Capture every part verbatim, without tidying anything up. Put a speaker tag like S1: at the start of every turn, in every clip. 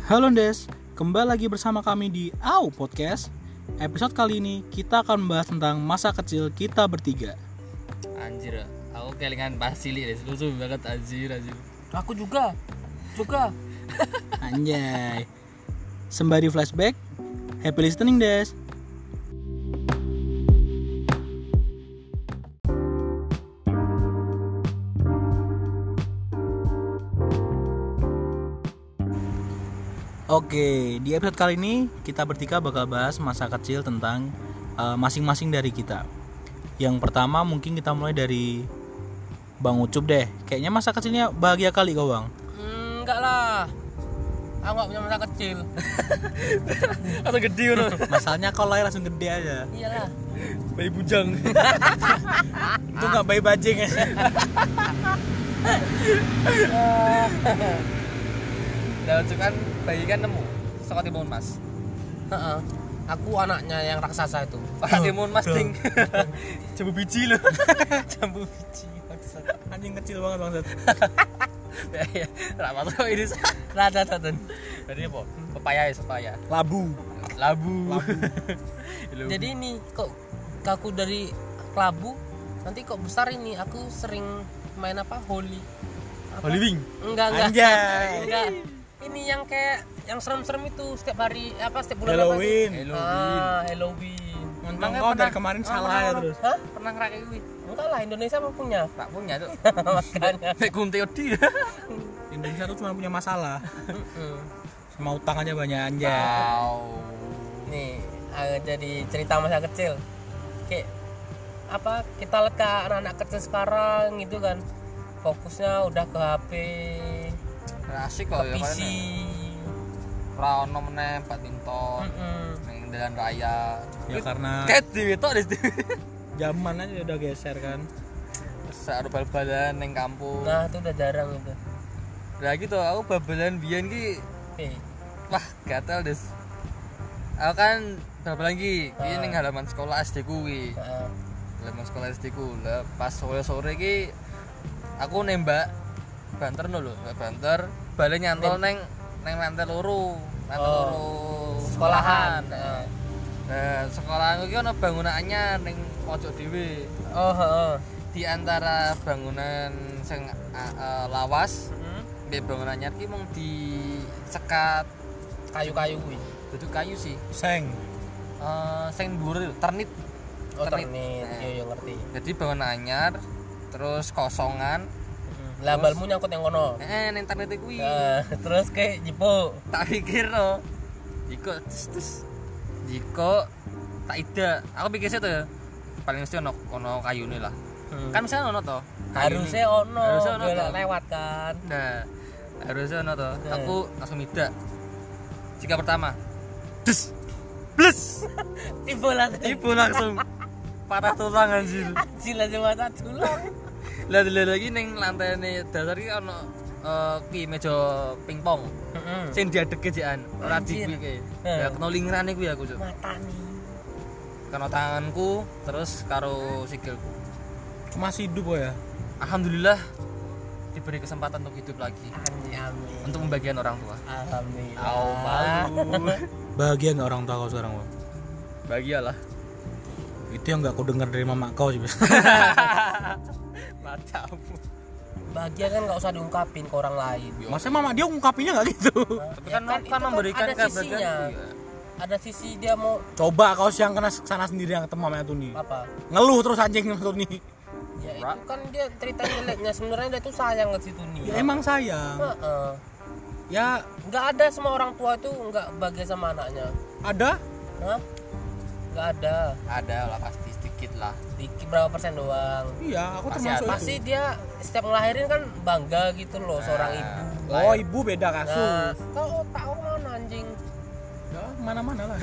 S1: Halo Des, kembali lagi bersama kami di Au Podcast. Episode kali ini kita akan membahas tentang masa kecil kita bertiga.
S2: Anjir, aku kelingan Basili deh, lucu banget anjir anjir.
S3: Aku juga, juga.
S1: Anjay. Sembari flashback, happy listening Des. Oke, di episode kali ini kita bertiga bakal bahas masa kecil tentang uh, masing-masing dari kita. Yang pertama mungkin kita mulai dari Bang Ucup deh. Kayaknya masa kecilnya bahagia kali kau Bang.
S3: Hmm, enggak lah. Aku enggak punya masa kecil.
S2: Atau gede loh.
S1: Masalahnya kau lahir langsung gede aja.
S3: Iyalah.
S2: Bayi bujang.
S1: Itu nggak bayi bajing ya.
S2: Nah, itu kan bayi kan nemu sekolah Timun Mas.
S3: Heeh. Aku anaknya yang raksasa itu.
S2: Orang Timun Mas ding. Jambu biji loh.
S3: Jambu biji.
S1: Anjing kecil banget Bang.
S2: Ya, enggak masuk ini.
S3: Rada datun.
S2: Jadi apa? Pepaya ya, pepaya.
S1: Labu.
S2: Labu.
S3: Jadi ini kok aku dari Kelabu nanti kok besar ini aku sering main apa Holy. Apa?
S2: Holy Wing.
S3: Enggak, enggak.
S1: Anjay.
S3: Enggak. Ini yang kayak yang serem-serem itu setiap hari apa setiap bulan
S1: Halloween.
S3: apa itu?
S2: Halloween.
S3: Ah, Halloween.
S1: Untung
S2: Emangnya
S1: kau dari
S2: pernah-
S1: kemarin
S2: oh,
S1: salah
S2: pernah-
S1: ya terus.
S3: Hah?
S2: Pernah ngerakit kuwi?
S3: Enggak lah, Indonesia mah punya.
S2: Tak punya tuh.
S3: Makanya.
S2: Nek kunti odi.
S1: Indonesia tuh cuma punya masalah.
S3: Mm-mm.
S1: Sama utang aja banyak anjay.
S2: Wow.
S3: Nih, ah, jadi cerita masa kecil. Kayak apa kita lihat ke anak-anak kecil sekarang gitu kan. Fokusnya udah ke H P,
S2: Asik
S3: ke
S2: kok ya
S3: P C.
S2: Ora ono meneh badminton
S3: Mm-mm.
S2: ning jalan raya.
S1: Ya karena
S2: Ket dhewe tok dis.
S1: zaman aja udah geser kan.
S2: Sak bal-balan ning kampung.
S3: Nah, itu udah jarang itu.
S2: Lah gitu aku bal-balan biyen ki
S3: Eh,
S2: wah gatel des. Aku kan bal-balan ki ki
S3: Ah.
S2: ning halaman sekolah S D kuwi.
S3: ah,
S2: Halaman sekolah S D ku. Lah pas sore-sore ki aku nembak banter no lho, nembak banter, bale nyantol neng neng lantai loro, lantai
S3: Oh.
S2: loro
S3: sekolahan.
S2: Nah, nah sekolahanku ki ono bangunan anyar ning pojok dhewe.
S3: Oh, heeh.
S2: Di antara bangunan sing a- a- lawas
S3: Mm-mm.
S2: mbek bangunan anyar ki mung disekat
S3: Kayu-kayu kuwi.
S2: duduk kayu sih.
S1: Seng.
S2: Eh sing dhuwur itu ternit.
S3: Oh,
S2: Ternit.
S3: ternit.
S2: Nah.
S3: Iya, iya ngerti.
S2: Jadi bangunan anyar terus kosongan.
S3: Lah balmu nyangkut yang kono.
S2: Eh ning ternit kuwi.
S3: Nah, terus kayak jipo.
S2: Tak pikir no jiko tus tus jiko tak ida aku pikir sih tuh ya paling mesti ono ono kayune lah
S3: Hmm.
S2: kan misalnya ono toh kayune.
S3: harusnya ono,
S2: Harusnya ono
S3: biar
S2: toh.
S3: lewat kan.
S2: Nah harusnya ono toh
S3: Hmm.
S2: aku langsung mida jika pertama des plus
S3: Tiba lah.
S2: ibu langsung patah tulang anjir
S3: Sila cuma satu tulang.
S2: lah lagi ning lantai nih dasar ki ono eh ki meja pingpong
S3: Heeh.
S2: sing diadeke jekan ora
S3: Anjir.
S2: di kuwi
S3: Hmm.
S2: ya kena lingkrane kuwi aku cuk
S3: Mata nih.
S2: kena tanganku terus karo sikilku.
S1: Masih hidup kok ya.
S2: Alhamdulillah diberi kesempatan untuk hidup lagi
S3: Amin, amin.
S2: untuk membagian orang tua.
S3: Alhamdulillah.
S2: Au malu.
S1: Bahagia nggak orang tua kau sekarang Bang?
S2: Bahagialah.
S1: Itu yang nggak kau dengar dari mama kau sih.
S2: Matamu.
S3: Bahagia kan nggak usah diungkapin ke orang lain.
S1: Masa mama dia ungkapinnya nggak gitu?
S2: Tapi
S3: Ya
S2: kan
S3: kan,
S2: kan,
S3: itu kan
S2: memberikan
S3: ada
S2: kebahagiaan.
S3: sisinya.
S2: Iya.
S3: Ada sisi dia mau
S1: Coba kau siang kena sana sendiri yang ketemu sama tuh nih.
S3: apa?
S1: Ngeluh terus anjing tuh nih.
S3: Ya itu kan dia cerita jeleknya, sebenarnya dia tuh sayang ke situ nih.
S1: Ya emang sayang.
S3: Heeh.
S1: Ya
S3: Nggak ada semua orang tua itu nggak bahagia sama anaknya.
S1: ada.
S3: Hah? Nggak ada.
S2: Ada lah pasti sedikit lah.
S3: Dikit berapa persen doang.
S1: Iya, aku
S2: Pasti
S1: termasuk
S2: ada.
S3: Pasti
S1: itu.
S3: dia setiap ngelahirin kan bangga gitu loh seorang
S2: Nah,
S3: ibu.
S1: Oh, ibu beda
S3: Nah,
S1: kasus.
S3: kau tahu mana anjing?
S1: Ya, mana-mana lah.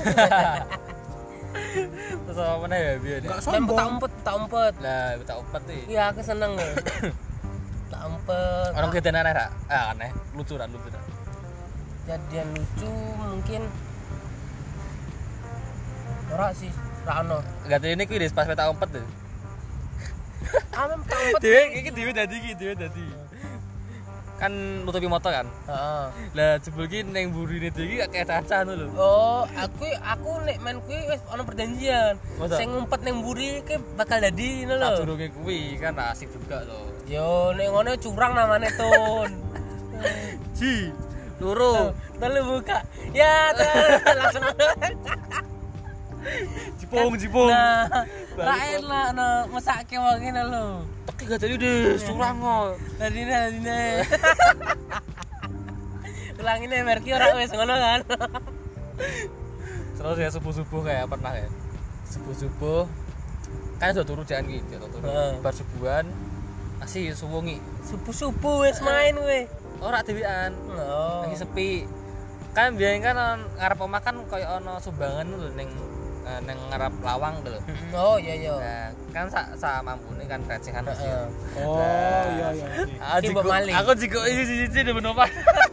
S2: Terus apa mana ya biar dia.
S1: Enggak
S3: Main
S1: sombong.
S3: tak umpet, tak umpet.
S2: Lah tak opat nih.
S3: Iya, aku seneng loh. Tak umpet.
S2: Orang kita aneh ra? Ah aneh, lucuran lucuran.
S3: Jadian lucu mungkin ora sih, ra ono.
S2: Enggak tahu ini kuwi des pas tak opat tuh.
S3: Ah, memang tak umpet.
S2: Dewe iki dhewe dadi iki dhewe dadi. kan nutupi motor kan.
S3: Heeh.
S2: Lah jebul ki ning burine iki kayak caca ngono lho.
S3: Oh, aku aku nek main kuwi wis ana perjanjian.
S2: Masa?
S3: Sing ngumpet ning mburi ki bakal dadi ngono lho.
S2: Sadurunge kuwi kan asik juga to.
S3: Yo nek ngono curang namanya Tun.
S2: Ji, loro.
S3: Telu buka. Ya, telu langsung.
S2: Jipong, jipong.
S3: Nah, lain lah no mesake wong ngene lho.
S2: Teki gak jadi deh, curang kok.
S3: Dadine dadine. Ulangine merki ora wis ngono kan.
S2: Terus ya subuh-subuh kayak pernah ya. Subuh-subuh kan udah turu jangan gitu, turu.
S3: Heeh.
S2: Bar subuhan masih suwengi.
S3: Subuh-subuh wis main kowe.
S2: Ora dhewean.
S3: Oh.
S2: Lagi sepi. Kan biyen kan on- ngarep omah kan koyo ana sumbangan lho ning eh, ning ngarep lawang lho.
S3: Oh iya iya.
S2: Nah, kan sak sa mampune kan recehan wis ya.
S3: Heeh.
S1: Oh iya iya. oke.
S2: Ah,
S3: Ki
S2: jigo-
S3: mbok maling.
S2: Aku jigo iki siji demen omah.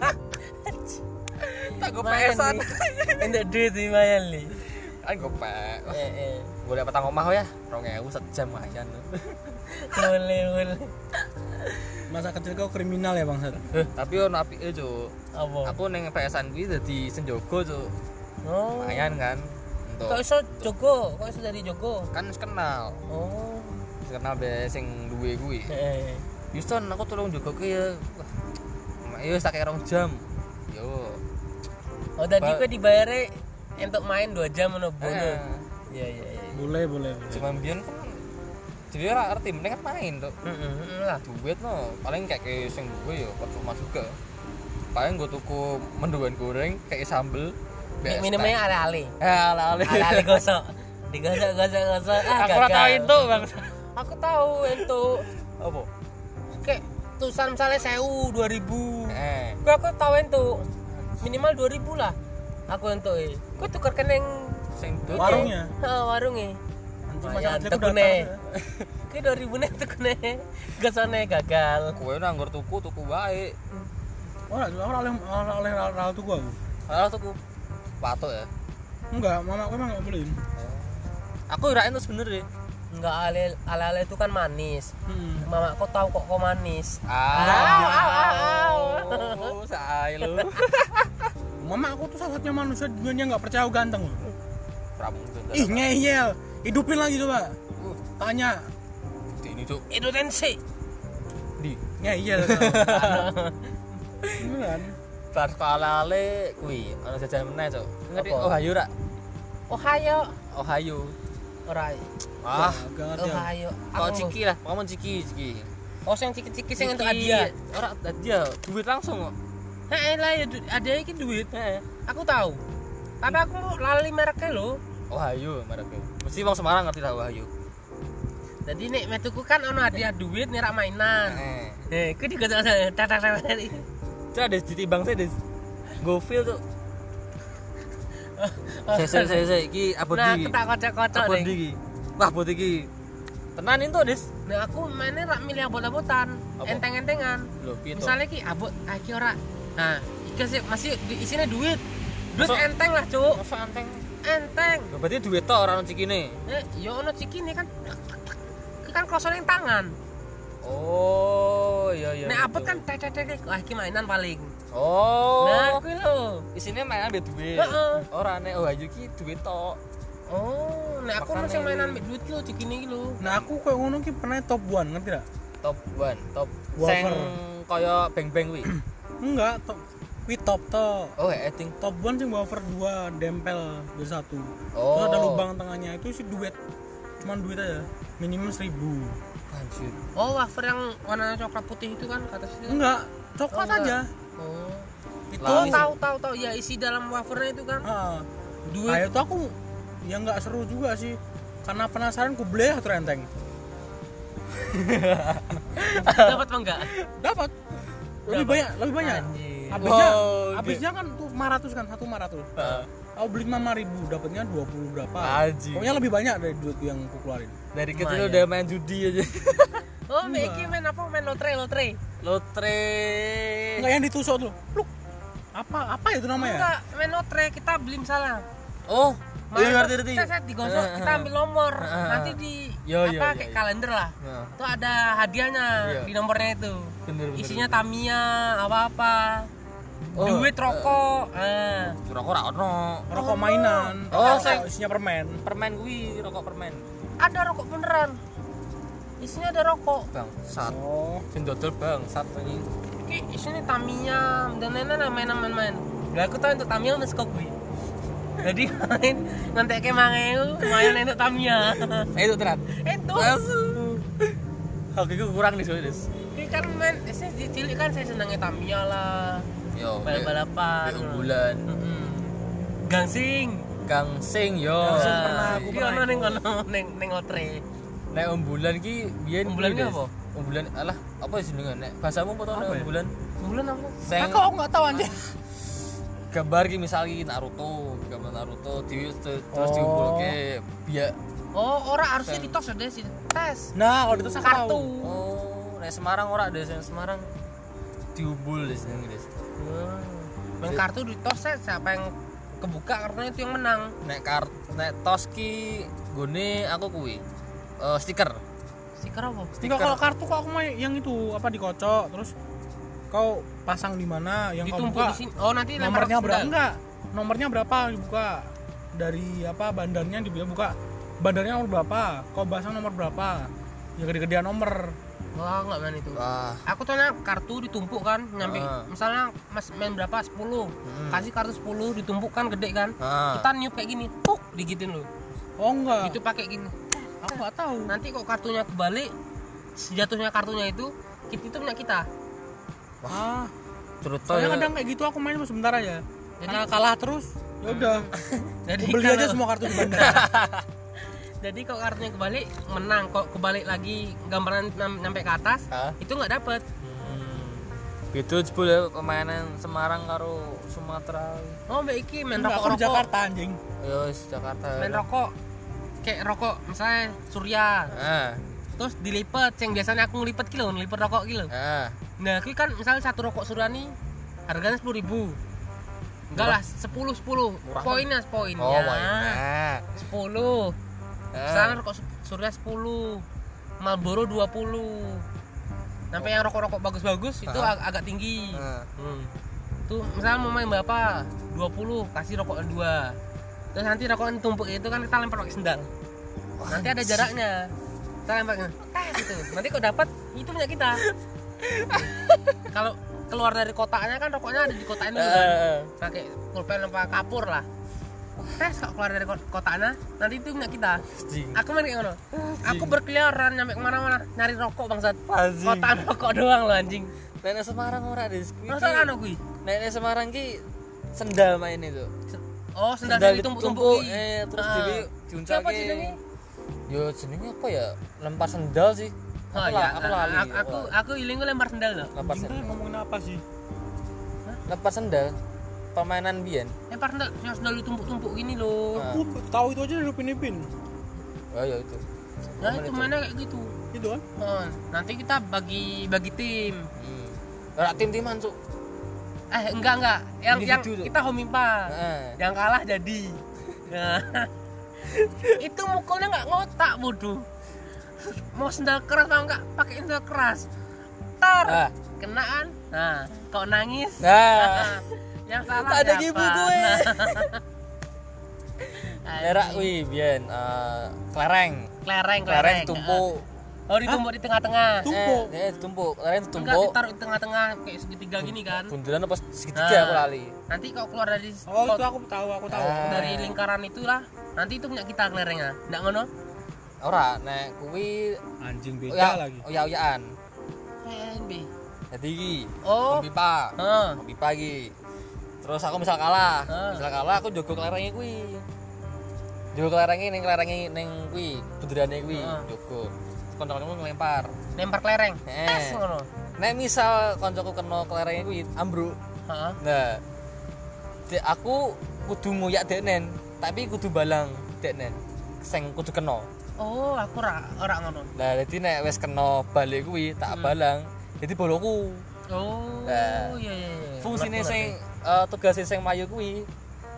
S2: Tak go pesan.
S3: Enggak duit di mayan li.
S2: Kan gopek.
S3: Eh eh.
S2: Boleh petang omah ya, dua ribu sejam aja.
S3: Boleh boleh.
S1: Masa kecil kau kriminal ya Bang Sat?
S2: Eh, tapi ono apike, Cuk.
S3: Apa?
S2: Aku ning P S-an kuwi dadi senjogo, Cuk.
S3: Oh.
S2: Lumayan kan.
S3: Kok
S2: Untuk
S3: iso jogo? Kok iso dari jogo?
S2: kan wis kenal.
S3: Oh.
S2: Wis kenal be sing duwe kuwi.
S3: Eh.
S2: Houston, aku tolong jogo ki ya. Wah, ya wis tak kira rong jam. Yo.
S3: Oh tadi
S2: Ba-
S3: kok dibayare untuk main dua jam ngono bono.
S2: Eh,
S3: Iya iya iya.
S1: Boleh boleh. boleh.
S2: cuma biyen kan jadi ora arti mending kan main, Cuk.
S3: Heeh heeh lah.
S2: Duit no, paling kayak ke sing duwe ya percuma juga. Paling gue tuku mendoan goreng kayak sambel.
S3: Nek minumnya ale-ale.
S2: Eh, ala-ala.
S3: Ale-ale gosok. Digosok gosok gosok. Ah,
S2: Aku ora
S3: gagal.
S2: tahu itu, Bang.
S3: Aku tahu itu.
S2: Apa?
S3: Kayak tulisan misalnya sewu, dua ribu.
S2: Eh,
S3: Kok aku tahu itu. Minimal dua ribu lah. Aku entuk e. Kok tuker keneng
S2: sing duit.
S1: Warungnya.
S3: Heeh, warunge.
S1: Anjing
S3: Lumayan,
S1: masa kecil aku
S3: tekune.
S1: datang.
S3: Ki dua ribu nek tekune. Gosone gagal.
S2: Kowe nek anggur tuku tuku wae.
S1: Ora, ora oleh ora oleh ral tuh gua.
S2: Kalau tuku patok ya.
S1: Enggak, mama aku emang enggak bolehin.
S2: Aku irain tuh sebenernya.
S3: Enggak ale ale itu kan manis.
S1: Hmm.
S3: Mama kok tahu kok kok manis.
S2: Ah, oh, say lu.
S1: Mama aku tuh satu-satunya manusia di dunia enggak percaya aku ganteng.
S2: Pramu.
S1: Ih, ngeyel. Hidupin lagi coba. Tanya.
S2: Ini tuh
S3: Itu tensi.
S2: di
S1: Ngeyel. Beneran.
S2: bar kalale kuwi ana jajan meneh, Cuk. Ngerti
S3: Apa?
S2: Ohio ra?
S3: Ohio.
S2: Ohio.
S3: Ora.
S2: Ah,
S1: Agak ngerti. aku.
S3: Ohio.
S2: kok ciki lah, ngomong ciki, ciki.
S3: Oh, sing ciki-ciki sing entuk
S2: Ciki.
S3: hadiah.
S2: Ora hadiah, duit langsung kok.
S3: Heeh lah ya du- hadiah iki duit.
S2: Heeh.
S3: Aku tahu. Tapi aku lali mereknya lho.
S2: Ohio mereknya. Mesti wong Semarang ngerti lah Ohio.
S3: Jadi nek metuku kan ono hadiah duit nek rak mainan.
S2: Heeh.
S3: Eh, ku digosok tatak-tatak.
S2: Coba deh ditimbang saya deh. Go feel tuh. Saya saya saya saya iki apa
S3: Nah,
S2: di?
S3: ketak kocok-kocok
S2: Apa
S3: ning.
S2: di? Wah, buat iki. Tenan itu, Des.
S3: Nah, aku mainnya rak milih abot-abotan,
S2: Apa?
S3: enteng-entengan.
S2: Lho, piye to?
S3: Misalnya ki abot, ah ki ora. Nah, iki sih masih di- isinya duit. Duit
S2: Masa-
S3: enteng lah, Cuk.
S2: Masa anteng.
S3: Enteng.
S2: Lho, berarti duit tok ora ono cikine.
S3: Eh, yo ono cikine kan. Ki kan krosone ning tangan.
S2: Oh, iya iya.
S3: Nek abot
S2: gitu.
S3: kan tek-tek-tek, ah ki mainan paling.
S2: Oh.
S3: Nah, kuwi lho.
S2: Isine mainan be duit.
S3: Heeh.
S2: Ora nek Ohio ki duit tok.
S3: Oh, nek aku
S2: Makanya
S3: masih mainan
S2: ini.
S3: mek duit ki lho cikine ki lho.
S1: Nah, aku kayak ngono ki pernah top one, ngerti gak?
S2: Top one, top
S1: Wafer.
S2: sing kaya beng-beng kuwi.
S1: Enggak, top kuwi top to.
S2: Oh, eting.
S1: Top one sing wafer dua dempel jadi satu.
S2: Oh.
S1: Terus ada lubang tengahnya itu sih duit. Cuman duit aja. Minimal seribu.
S2: Anjir.
S3: Oh, wafer yang warna coklat putih itu kan kata situ.
S1: Enggak, coklat
S3: Oh, enggak.
S1: aja.
S3: Oh.
S1: Itu
S3: Oh,
S2: Lali.
S3: tahu tahu tahu ya isi dalam wafernya itu kan.
S1: Ah,
S3: Duit.
S1: nah, itu aku ya nggak seru juga sih. Karena penasaran ku beli atau enteng.
S3: Dapat apa enggak?
S1: Dapat. Lebih
S3: Berapa?
S1: banyak, lebih banyak.
S3: Anjir.
S1: Habisnya,
S2: Wow,
S1: habisnya kan tuh lima ratus kan, satu lima ratus.
S2: Heeh.
S1: Aku beli lima ribu, dapatnya dua puluh berapa.
S2: Anjir.
S1: Pokoknya lebih banyak dari duit yang aku keluarin.
S2: Dari kecil
S3: Lumayan.
S2: udah main judi aja.
S3: Oh, mek iki main apa? Main lotre, lotre.
S2: Lotre.
S1: Enggak yang ditusuk tuh. Pluk. Apa apa itu namanya?
S3: Enggak, main lotre kita beli misalnya.
S2: Oh, iya
S3: Main
S2: ngerti
S3: terus
S2: ngerti.
S3: Set, set digosok, kita ambil nomor.
S2: Heeh.
S3: Nanti di
S2: Yo, yo,
S3: apa
S2: yo,
S3: kayak
S2: yo.
S3: kalender lah.
S2: Nah,
S3: Itu ada hadiahnya
S2: Iya.
S3: di nomornya itu.
S2: bener bener.
S3: Isinya Tamiya apa-apa.
S2: Oh,
S3: Duit rokok. Eh.
S2: rokok ra ono.
S1: Rokok mainan.
S2: Oh,
S1: Rokok
S2: saya-
S1: isinya permen.
S2: Permen kuwi, rokok permen.
S3: Ada rokok beneran. Isinya ada rokok.
S2: Bang, sat.
S1: Oh.
S2: Sing dodol bang, sat ini.
S3: Ki isinya Tamiya dan lain-lain main-main. Lah aku tahu untuk Tamiya wis kok kuwi. Jadi main nanti ke mangeu main untuk Tamiya.
S2: Eh itu terat.
S3: Itu.
S2: Oke, gue kurang nih soalnya. Des.
S3: Ki kan main saya di cilik kan saya senangnya Tamiya lah.
S2: Yo,
S3: Balap-balapan.
S2: Di bulan.
S3: Heeh. Gangsing.
S2: Kang Sing yo.
S1: Gangsing pernah aku
S3: Ki ono ning kono ning ning otre.
S2: Nek umbulan ki biyen
S3: Umbulan
S2: kuwi,
S3: ki
S2: Des.
S3: apa?
S2: Umbulan alah apa jenenge nek bahasamu apa to nek
S1: Apa ya?
S2: umbulan?
S3: Bulan apa?
S2: Sing
S1: Kok aku enggak tahu anjir.
S2: gambar ki misalnya Naruto, gambar Naruto di terus
S1: Oh.
S2: diumpulke biar
S3: Oh, ora harusnya
S2: Sing.
S3: ditos ada sih. Tes.
S1: Nah, kalau itu saya
S3: Kartu.
S1: tahu.
S2: oh, nek Semarang ora ada sing Semarang diumbul Des ning Des.
S3: Hmm. Main kartu ditos ya, siapa yang kebuka kartunya itu yang menang.
S2: Nek kar nek tos ki gone aku kuwi. Eh stiker.
S3: Stiker apa?
S1: Enggak, kalau kartu kok aku main yang itu apa dikocok terus kau pasang di mana yang kau
S3: Ditumpuk
S1: buka
S3: di sini. Oh, nanti lempar
S1: nomornya berapa?
S3: sendal.
S1: Enggak. Nomornya berapa dibuka? Dari apa bandarnya dibuka buka. Bandarnya nomor berapa? Kau pasang nomor berapa? Ya gede-gedean nomor.
S3: Wah, enggak main itu.
S2: Wah.
S3: Aku tuh nah, kartu ditumpuk kan, nyampe
S2: Ah.
S3: misalnya Mas main berapa? sepuluh.
S2: Hmm.
S3: Kasih kartu sepuluh ditumpuk kan gede kan.
S2: Ah.
S3: Kita niup kayak gini, puk, digitin loh.
S1: Oh enggak.
S3: Itu pakai gini.
S1: Aku enggak tahu.
S3: Nanti kok kartunya kebalik, jatuhnya kartunya itu kita itu punya kita.
S1: Ah,
S2: Cerita
S1: soalnya
S2: ya.
S1: kadang kayak gitu aku main cuma sebentar aja.
S3: Jadi-
S1: Karena kalah terus, ya udah.
S3: Jadi
S1: Aku beli
S3: kalau-
S1: aja semua kartu di bandar.
S3: Jadi kalau kartunya kebalik menang, kok kebalik lagi gambaran nam- nyampe ke atas,
S2: Hah?
S3: itu nggak dapet.
S2: Hmm. Gitu jebul ya permainan Semarang karo Sumatera.
S3: Oh, mbak iki main
S1: Enggak,
S3: rokok
S1: aku di
S3: rokok,
S1: Jakarta anjing.
S2: Yo wis Jakarta.
S3: main rokok, kayak rokok misalnya Surya,
S2: Ah.
S3: terus dilipet, yang biasanya aku ngelipet kilo, ngelipet rokok kilo.
S2: Ah.
S3: Nah, itu kan misalnya satu rokok Surya nih harganya sepuluh ribu. Enggak lah, sepuluh sepuluh.
S2: Murah.
S3: Poinnya poinnya.
S2: Oh, banyak.
S3: sepuluh. Misalnya rokok Su- Surya sepuluh. Marlboro dua puluh. Sampai yang rokok-rokok bagus-bagus itu
S2: Ah.
S3: ag- agak tinggi.
S2: Ah.
S3: Hmm. Tuh, misalnya mau main berapa? dua puluh, kasih rokok dua. Terus nanti rokok tumpuk itu kan kita lempar pakai sendal. Nanti ada jaraknya. Kita lempar eh gitu. Nanti kok dapat itu punya kita. Kalau keluar dari kotaknya kan rokoknya ada di kotaknya dulu kan.
S2: Ah.
S3: Pakai pulpen apa kapur lah. Tes kok keluar dari ko- kotaknya, nanti itu punya kita.
S2: Anjing.
S3: Aku main kayak ngono. Aku berkeliaran nyampe kemana-mana nyari rokok bangsat.
S2: Anjing.
S3: Kotak rokok doang loh anjing.
S2: Nek Semarang ora Des.
S3: Masa anu kuwi?
S2: Nek Semarang ki sendal main itu.
S3: Oh, sendal ditumpuk-tumpuk.
S2: eh terus
S3: Ah.
S2: dewe
S3: Siapa
S2: diuncalke.
S3: jenenge?
S2: Yo jenenge apa ya? Lempar sendal sih.
S3: Oh
S2: Aku
S3: ya,
S2: la- aku lali.
S3: aku aku, aku iling lempar sendal loh.
S2: lempar
S1: Anjing
S2: sendal.
S1: kan ngomongin apa sih?
S2: Lempar sendal. Permainan biyen.
S3: Lempar sendal, yang sendal ditumpuk-tumpuk gini loh.
S2: Ah.
S1: Aku tahu itu aja dari Upin Ipin.
S2: Oh ya itu.
S3: Nah,
S2: Momen
S3: itu
S2: itu.
S3: mana kayak gitu.
S1: Itu kan?
S3: Oh, nanti kita bagi bagi tim.
S2: Hmm. Ora tim-timan, Cuk.
S3: Eh, enggak enggak. Yang yang
S2: Individu tuh.
S3: kita homimpa.
S2: Heeh.
S3: Yang kalah jadi. Nah, itu mukulnya nggak ngotak bodoh. Mau sendal keras mau nggak pakai sendal keras. Tar,
S2: Ah.
S3: kenaan. Nah, kau nangis.
S2: Nah,
S3: Yang salah
S2: tak ada
S3: siapa?
S2: ibu gue.
S3: Nah.
S2: Daerah kuwi biyen eh kelereng.
S3: Kelereng,
S2: Kelereng
S3: kelereng.
S2: tumpuk.
S3: Oh, ditumpuk di tengah-tengah.
S1: Tumpuk.
S2: Eh, eh tumpuk. Kelereng
S3: Enggak
S2: tumpuk.
S3: ditaruh di tengah-tengah kayak segitiga gini kan.
S2: Bundelan apa segitiga
S3: Nah.
S2: aku lali.
S3: Nanti kau keluar dari
S1: Oh, itu aku tahu, aku tahu.
S2: Ah.
S3: dari lingkaran itulah. Nanti itu punya kita kelerengnya. Enggak ngono?
S2: Ora, nek kuwi
S1: Anjing beda
S2: oya,
S1: lagi.
S2: oya-oyaan.
S3: N B.
S2: Jadi iki
S3: Oh.
S2: pipa.
S3: Heeh.
S2: Pipa iki. Terus aku misal kalah,
S3: Ah.
S2: misal kalah aku jogo kelerengnya kuwi. Jogo kelerengnya ning kelerengnya ning kuwi, bunderane kuwi,
S3: Ah.
S2: jogo. Kanca-kancaku ngelempar.
S3: Lempar kelereng.
S2: Eh.
S3: Tes ngono.
S2: Nek misal kancaku kena kelerengnya kuwi ambruk.
S3: Heeh.
S2: Nah, dek aku kudu ngoyak deknen, tapi kudu balang deknen. Sing kudu kena.
S3: Oh, aku ora ora ngono.
S2: Lah dadi nek wis kena balik kuwi tak
S3: Hmm.
S2: balang, dadi boloku.
S3: Oh,
S2: Nah,
S3: iya iya iya.
S2: Fungsine
S3: Ngerti,
S2: sing uh, tugasé sing mayu kuwi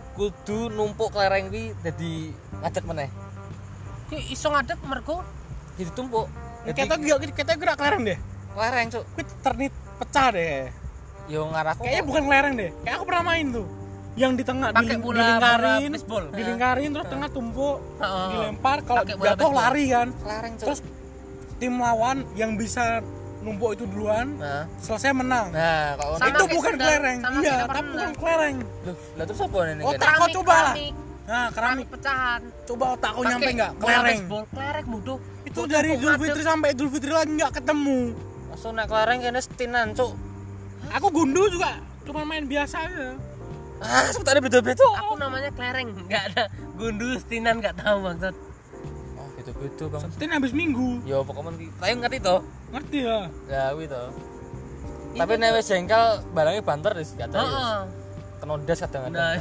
S2: kudu numpuk kelereng kuwi dadi ngadeg meneh.
S3: ngerti. Ki iso ngadeg mergo
S2: ditumpuk.
S1: Kita gerak kita gerak kelereng deh.
S2: Kelereng, Cuk.
S1: Kuwi ternit pecah deh.
S2: Yo ngarahku.
S1: Kayaknya bukan kelereng deh. Kayak aku pernah main tuh. Yang di tengah
S3: Pakai
S1: diling-
S3: bola-
S1: dilingkarin,
S3: bola baseball.
S1: dilingkarin terus tengah tumpuk,
S3: Heeh.
S1: dilempar kalau
S3: Pakai bola
S1: jatuh
S3: baseball.
S1: lari kan.
S2: Kelereng, Cuk.
S1: Terus tim lawan yang bisa numpuk itu duluan
S2: Nah.
S1: selesai menang.
S2: Nah, kalau
S3: Sama
S1: itu
S3: kayak
S1: bukan
S3: sendal,
S1: kelereng.
S3: sama
S1: Iya,
S3: kayak
S1: tapi
S3: sendal.
S1: bukan kelereng.
S2: Loh, lah terus apa ini?
S1: Oh,
S2: Ken?
S1: tak- kau coba lah.
S3: keramik.
S1: Nah, keramik.
S3: pecahan.
S1: Coba otak kau
S3: Pakai
S1: nyampe enggak?
S3: bola
S1: Kelereng.
S3: baseball, kelereng bodoh.
S1: Itu
S3: Bodoh,
S1: dari
S3: kok
S1: Idul
S3: ngadep.
S1: Fitri sampai Idul Fitri lagi enggak ketemu.
S2: Langsung naik kelereng kene setinan, Cuk.
S1: Aku gundul juga cuma main biasa aja.
S2: Ah, sebentar beda-beda.
S3: Aku namanya kelereng, enggak ada gundul stinan enggak tahu maksud.
S2: Oh, beda-beda, Bang.
S1: Setin habis minggu.
S2: Yo Pokemon ki. Tapi ngerti to?
S1: Ngerti ya?
S2: Ya kuwi to. Tapi nek wis jengkel barangnya banter wis gak ada.
S3: Heeh.
S2: Kena das kadang-kadang.
S3: Nah.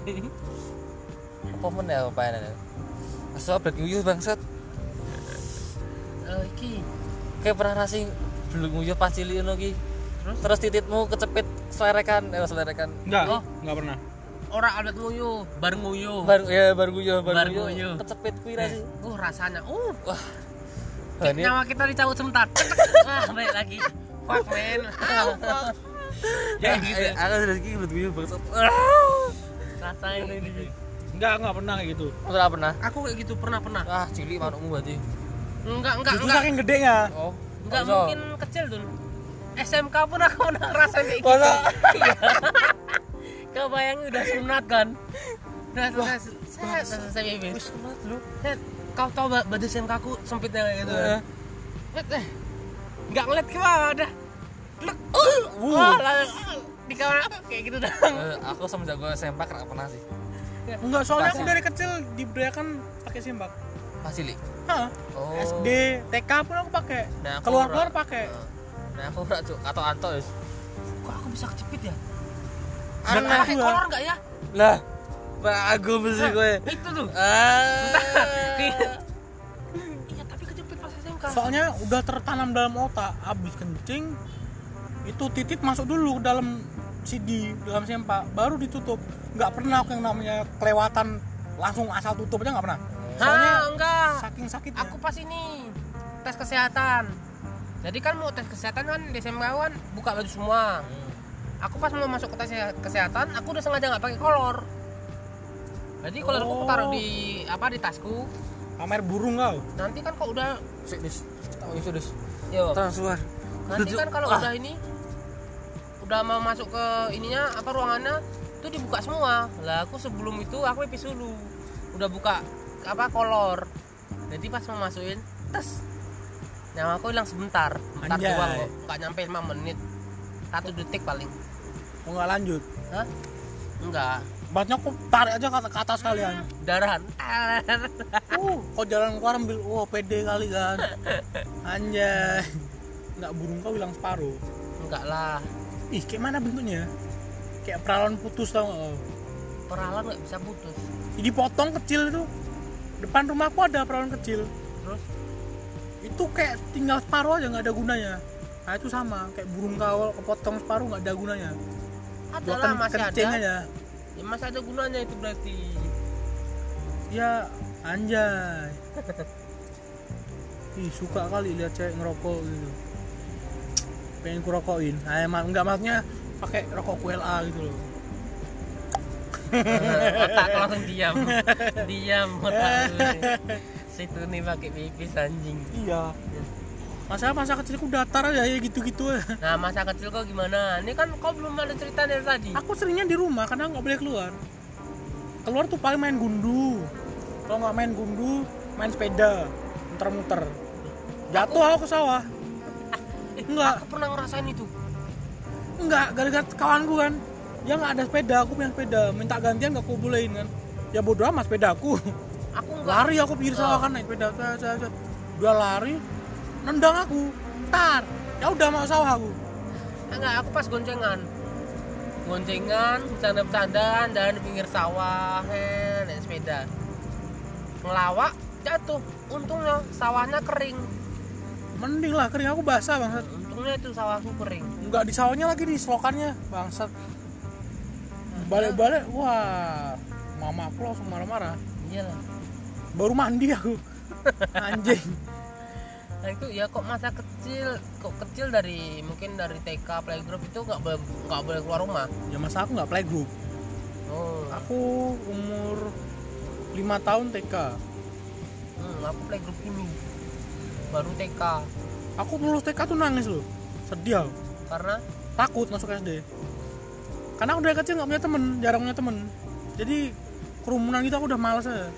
S2: Apa men ya apa ini? Asal black nguyuh bangsat.
S3: Eh iki
S2: Kayak pernah nasi black nguyuh pas cilik ngono ki.
S3: Terus?
S2: Terus tititmu kecepit selerekan, eh selerekan.
S1: Enggak,
S3: Oh.
S1: enggak pernah.
S3: orang Albert nguyuh, bareng nguyuh.
S2: Baru ya baru nguyuh, baru
S3: Baru
S2: nguyuh.
S3: nguyuh.
S2: Kecepit kuwi ra sih.
S3: Uh rasanya, uh
S2: Wah.
S3: kayak
S2: Ini
S3: nyawa kita dicabut sebentar. Ah, balik lagi. Fuck man. Ah, fuck. Ya gitu.
S2: Eh, aku sudah gigi black nguyuh bangsat.
S3: Rasain ini.
S1: Enggak, enggak pernah kayak gitu.
S2: Enggak pernah.
S3: Aku kayak gitu pernah pernah.
S2: Ah, cilik manukmu berarti.
S3: Enggak enggak
S1: Justru
S3: enggak.
S1: saking gedenya.
S2: Oh.
S3: Enggak
S2: Masa?
S3: mungkin kecil tuh. S M K pun aku pernah ngerasain kayak gitu.
S2: Masa?
S3: Iya. Kebayang udah sunat kan. Udah selesai, saya selesai baby.
S2: Wis sunat lu.
S3: Set, kau tahu ba- baju S M K aku sempitnya kayak gitu.
S2: Heeh.
S3: Set, eh. Enggak ngeliat ke bawah udah. Plek.
S2: Uh.
S3: Wah, langsung di kamar aku kayak gitu dah.
S2: Eh, aku semenjak gue S M P gak pernah sih.
S1: Enggak, soalnya aku
S2: Pasti.
S1: dari kecil diberdayakan pakai sembak.
S2: Pas cilik.
S1: Hah?
S2: Oh.
S1: S D, T K pun aku pakai.
S2: Nah, aku
S1: Keluar-keluar
S2: ora.
S1: pakai.
S2: Nah, aku ora cuk, atau anto wis.
S3: Kok aku bisa kecepit ya?
S1: Dan
S3: Pakai
S1: aku ya.
S3: kolor enggak ya?
S2: Lah, bagus mesti gue.
S3: Itu tuh.
S2: Ah.
S3: Iya, tapi kejepit pas S M K.
S1: Soalnya udah tertanam dalam otak, habis kencing itu titit masuk dulu ke dalam C D, dalam sempak, baru ditutup. Nggak pernah aku yang namanya kelewatan langsung asal tutup aja nggak pernah. Soalnya
S3: Hah, enggak.
S1: saking sakitnya.
S3: Aku pas ini tes kesehatan. Jadi kan mau tes kesehatan kan di S M K kan buka baju semua. Aku pas mau masuk ke tes kesehatan, aku udah sengaja nggak pakai kolor. Jadi kolorku aku taruh di apa di tasku.
S1: pamer burung kau.
S3: Nanti kan kok udah
S2: Sik, Dis. Tahu iso, Dis.
S3: yo.
S2: Transluar.
S3: Nanti kan kalau
S2: Ah.
S3: udah ini udah mau masuk ke ininya apa ruangannya itu dibuka semua. Lah aku sebelum itu aku pipis dulu. Udah buka apa kolor. Jadi pas mau masukin tes nyawa aku hilang sebentar. Bentar
S1: Anjay.
S3: doang kok. Enggak nyampe lima menit. Satu detik paling.
S1: Mau nggak lanjut?
S3: Hah? Enggak.
S1: Batnya aku tarik aja ke, ke atas kalian.
S3: Darahan.
S1: Uh, kau jalan keluar ambil, wah pede kali kan. Anjay. Nggak burung kau hilang separuh.
S3: Enggak lah.
S1: Ih, kayak mana bentuknya? Kayak peralon putus tau nggak kau?
S3: Peralan nggak bisa putus.
S1: Jadi potong kecil itu. Depan rumahku ada peralon kecil.
S3: Terus
S1: Itu kayak tinggal separuh aja nggak ada gunanya. Nah itu sama, kayak burung kawal kepotong separuh nggak ada gunanya.
S3: ada
S1: Buat
S3: lah
S1: ken-
S3: masih
S1: kencing
S3: ada.
S1: aja.
S3: Ya masih ada gunanya itu berarti.
S1: Ya anjay. Ih suka kali lihat cewek ngerokok gitu. Pengen ku rokokin. Nah, emang enggak maksudnya pakai rokok Q L A gitu loh.
S3: Otak langsung diam. Diam otak lu nih. Situ nih pakai pipis anjing.
S1: Iya. Masa masa kecilku datar aja ya gitu-gitu aja.
S3: Nah, masa kecil kau gimana? Ini kan kau belum ada cerita dari tadi.
S1: Aku seringnya di rumah karena nggak boleh keluar. Keluar tuh paling main gundu. Kalau nggak main gundu, main sepeda, muter-muter. Jatuh aku ke sawah. Enggak,
S3: Aku pernah ngerasain itu.
S1: enggak, gara-gara kawanku kan. Dia nggak ada sepeda, aku punya sepeda. Minta gantian nggak aku bolehin kan. Ya bodo amat sepedaku.
S3: Aku enggak.
S1: Lari aku pinggir sawah kan naik sepeda. Set, set, set. Dia lari, nendang aku. Tar, ya udah mau sawah aku.
S3: Enggak, aku pas goncengan. Goncengan, bercanda-bercandaan dan di pinggir sawah, he, naik sepeda. Ngelawak, jatuh. Untungnya sawahnya kering.
S1: Mending lah, kering aku basah bangsat.
S3: Untungnya itu sawahku kering.
S1: Enggak di sawahnya lagi di selokannya bangsat. Balik-balik, wah, mama aku langsung marah-marah.
S3: Iyalah.
S1: Baru mandi aku. Anjing.
S3: Nah itu ya kok masa kecil, kok kecil dari mungkin dari T K playgroup itu nggak boleh nggak boleh keluar rumah.
S1: Ya masa aku nggak playgroup.
S3: Oh.
S1: Aku umur lima tahun T K.
S3: Hmm, aku playgroup ini baru T K.
S1: Aku lulus T K tuh nangis loh, sedih aku.
S3: Karena
S1: Takut masuk S D. Karena aku dari kecil nggak punya temen, jarang punya temen. Jadi kerumunan gitu aku udah males aja.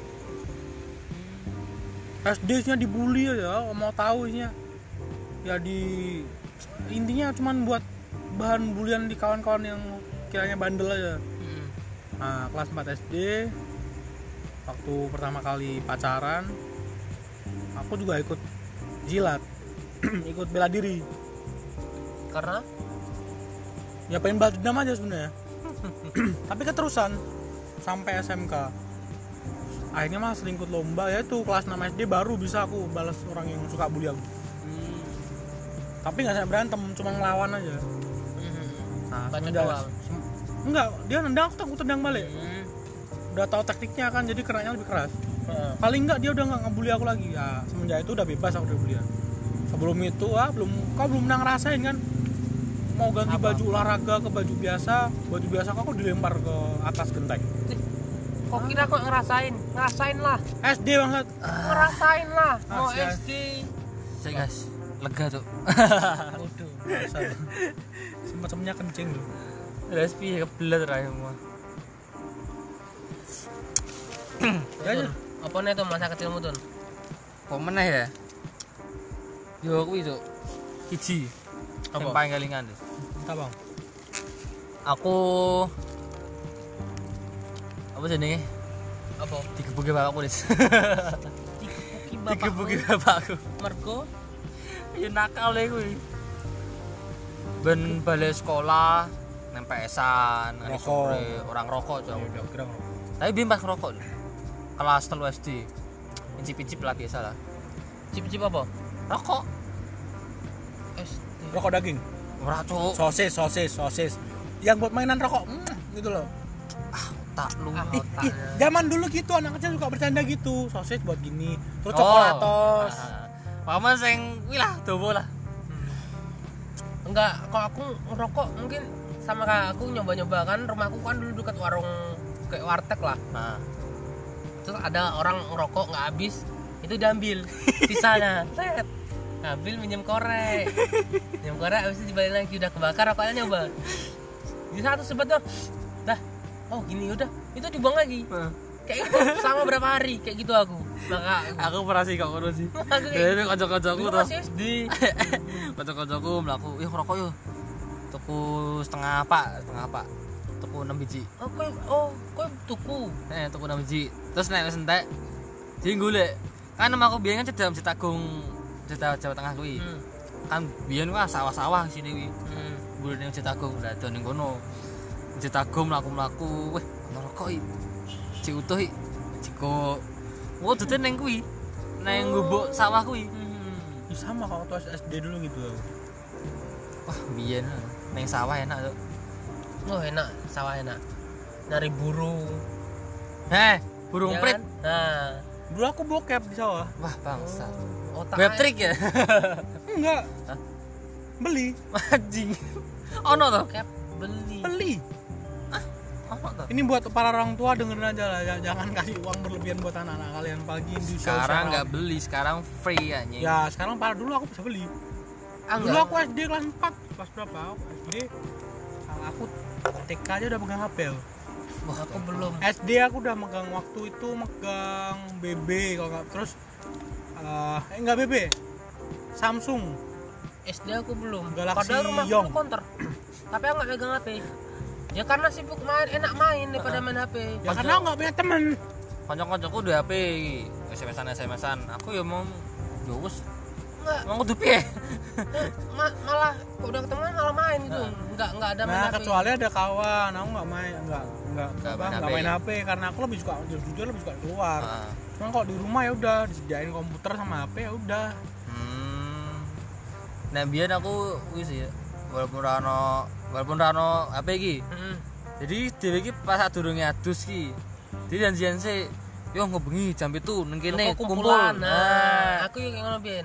S1: S D nya dibully aja, mau tahu isinya. Ya di intinya cuman buat bahan bulian di kawan-kawan yang kiranya bandel aja.
S3: hmm.
S1: Nah, kelas empat S D waktu pertama kali pacaran aku juga ikut jilat. Ikut bela diri.
S3: Karena
S1: Ya pengen balas dendam aja sebenarnya. Tapi keterusan sampai S M K. Akhirnya malah sering ikut lomba, ya itu kelas enam S D baru bisa aku balas orang yang suka bully aku.
S3: hmm.
S1: Tapi nggak sampai berantem, cuma ngelawan aja.
S3: Hmm.
S1: Nah,
S3: Bacot
S1: semenjak-
S3: doang.
S1: sem- enggak, dia nendang aku, aku tendang balik.
S3: Hmm.
S1: Udah tahu taktiknya kan, jadi kenanya lebih keras.
S3: Heeh.
S1: Paling enggak dia udah nggak ngebully aku lagi. Ya, semenjak itu udah bebas aku dari bulian. Sebelum itu ah belum, kau belum pernah ngerasain kan? Mau ganti
S3: Apa?
S1: baju olahraga ke baju biasa, baju biasa aku dilempar ke atas genteng.
S3: Kok kira kok ngerasain? Ngerasain lah.
S1: S D banget.
S3: Ngerasain lah. Mau
S1: Ah, siap.
S3: S D.
S2: Cek guys, lega tuh.
S3: Waduh.
S1: Sempat semuanya kencing tuh.
S2: Terus piye kebelet ra semua.
S1: Ya aja.
S3: Apa nih tuh masa kecilmu tuh?
S2: Kok meneh ya? Yo kuwi tuh. Siji.
S3: Apa?
S2: Yang paling kelingan tuh.
S1: Entah bang.
S2: Aku apa jenenge?
S3: Apa?
S2: Digebuki bapakku, Dis.
S3: Dikepuki bapakmu.
S2: Digebuki bapakku.
S3: Mergo
S2: Ya nakal ya kuwi. Ben balik sekolah nang P S-an, nang
S1: Rokok.
S2: sore orang rokok
S1: Ya
S2: jauh.
S1: udah kira ngerokok.
S2: Tapi bimbang ngerokok. Kelas telu S D. Incip-incip lah biasa lah.
S3: cip-cip apa?
S2: Rokok.
S3: S D.
S1: Rokok daging.
S2: Ora cuk.
S1: Sosis, sosis, sosis. Yang buat mainan rokok. Mm, gitu loh.
S2: Tak lu.
S3: Ah,
S1: Ih,
S3: otaknya.
S1: ih, zaman dulu gitu anak kecil suka bercanda gitu. Sosis buat gini, terus
S2: Oh.
S1: coklatos.
S2: Paman sing kuwi lah dobo lah.
S3: Enggak, kalau aku ngerokok mungkin sama kayak aku nyoba-nyoba kan rumahku kan dulu dekat warung kayak warteg lah.
S2: Nah,
S3: Terus ada orang ngerokok nggak habis, itu diambil sisanya. Set. Ngambil minjem korek. Minjem korek habis itu dibalik lagi udah kebakar rokoknya nyoba. Di satu sebet tuh. Dah. Oh, gini udah. Itu dibuang lagi. Kayak gitu sama berapa hari kayak gitu aku. Maka
S2: aku pernah sih kok ngono sih.
S3: aku kayak
S2: Dari kanca-kancaku
S3: dulu
S2: tuh.
S3: masih S D.
S2: Kanca-kancaku mlaku, "Yuk ngerokok yuk." Tuku setengah apa? Setengah apa? Tuku enam biji.
S3: Oh, kowe oh, kowe tuku.
S2: Eh, tuku enam biji. Terus nek wis entek di golek. Kan nama aku biyen kan cedam Citagung, Cita Jawa Tengah kuwi.
S3: Hmm.
S2: Kan biyen wah sawah-sawah sini kuwi.
S3: Hmm.
S2: Golek ning Citagung, lah do ning kono. Citagung mlaku-mlaku, weh, ngerokok iki. Cik utuh iki. Ciko. Oh, dite ning kuwi. Neng gubuk sawah kuwi.
S3: Hmm.
S1: Ya, sama kalau waktu S D dulu gitu.
S2: Wah, biyen ning sawah enak tuh.
S3: Oh, enak, sawah enak. Dari burung.
S2: Heh, burung
S3: Ya
S2: prit.
S3: kan? Nah,
S1: Dulu aku bokep di sawah.
S2: Wah, bangsa.
S3: otak
S2: Web trick ya?
S1: Enggak.
S2: Hah?
S1: Beli,
S2: Anjing. Ono to?
S3: Cap beli.
S1: beli.
S2: Ono to?
S1: Ini buat para orang tua dengerin aja lah, ya, jangan kasih uang berlebihan buat anak-anak kalian pagi di
S2: Sekarang nggak beli, sekarang free anjing.
S1: Ya, sekarang para dulu aku bisa beli.
S3: Ah,
S1: Dulu
S3: enggak.
S1: aku S D kelas empat, kelas berapa? Aku S D. Aku T K aja udah pegang H P. Aku.
S3: Wah, aku belum.
S1: S D aku udah megang waktu itu megang B B kalau nggak terus eh eh, enggak B B. Samsung.
S3: S D aku belum.
S1: Galaxy
S3: Padahal rumah
S1: Yong.
S3: aku counter. Tapi aku nggak pegang H P. Ya karena sibuk main, enak main daripada main H P.
S1: Ya karena aku nggak punya temen.
S2: Kanca-kancaku duwe H P iki, S M S-an S M S-an. Aku ya mau yo wis
S3: Enggak,
S2: mau kudu piye?
S3: ma- malah kok udah ketemu malah main gitu. Enggak enggak ada main
S1: Nah,
S3: H P.
S1: kecuali ada kawan, aku nggak main, nggak nggak
S2: Nggak
S1: apa,
S2: main
S1: nggak
S2: H P.
S1: main H P karena aku lebih suka jujur lebih suka keluar.
S2: Heeh.
S1: Cuma kalau di rumah ya udah disediain komputer sama H P ya udah.
S2: Hmm. Nah, biyen aku wis ya walaupun ra ono walaupun ra ono H P iki.
S3: Heeh.
S2: Jadi dhewe iki pas sadurunge adus ki. Jadi janjian sih yo ngobengi jam itu nang kene
S3: Kok
S2: kumpul.
S3: kumpulan. Nah,
S2: Nah,
S3: aku yang ngono biyen.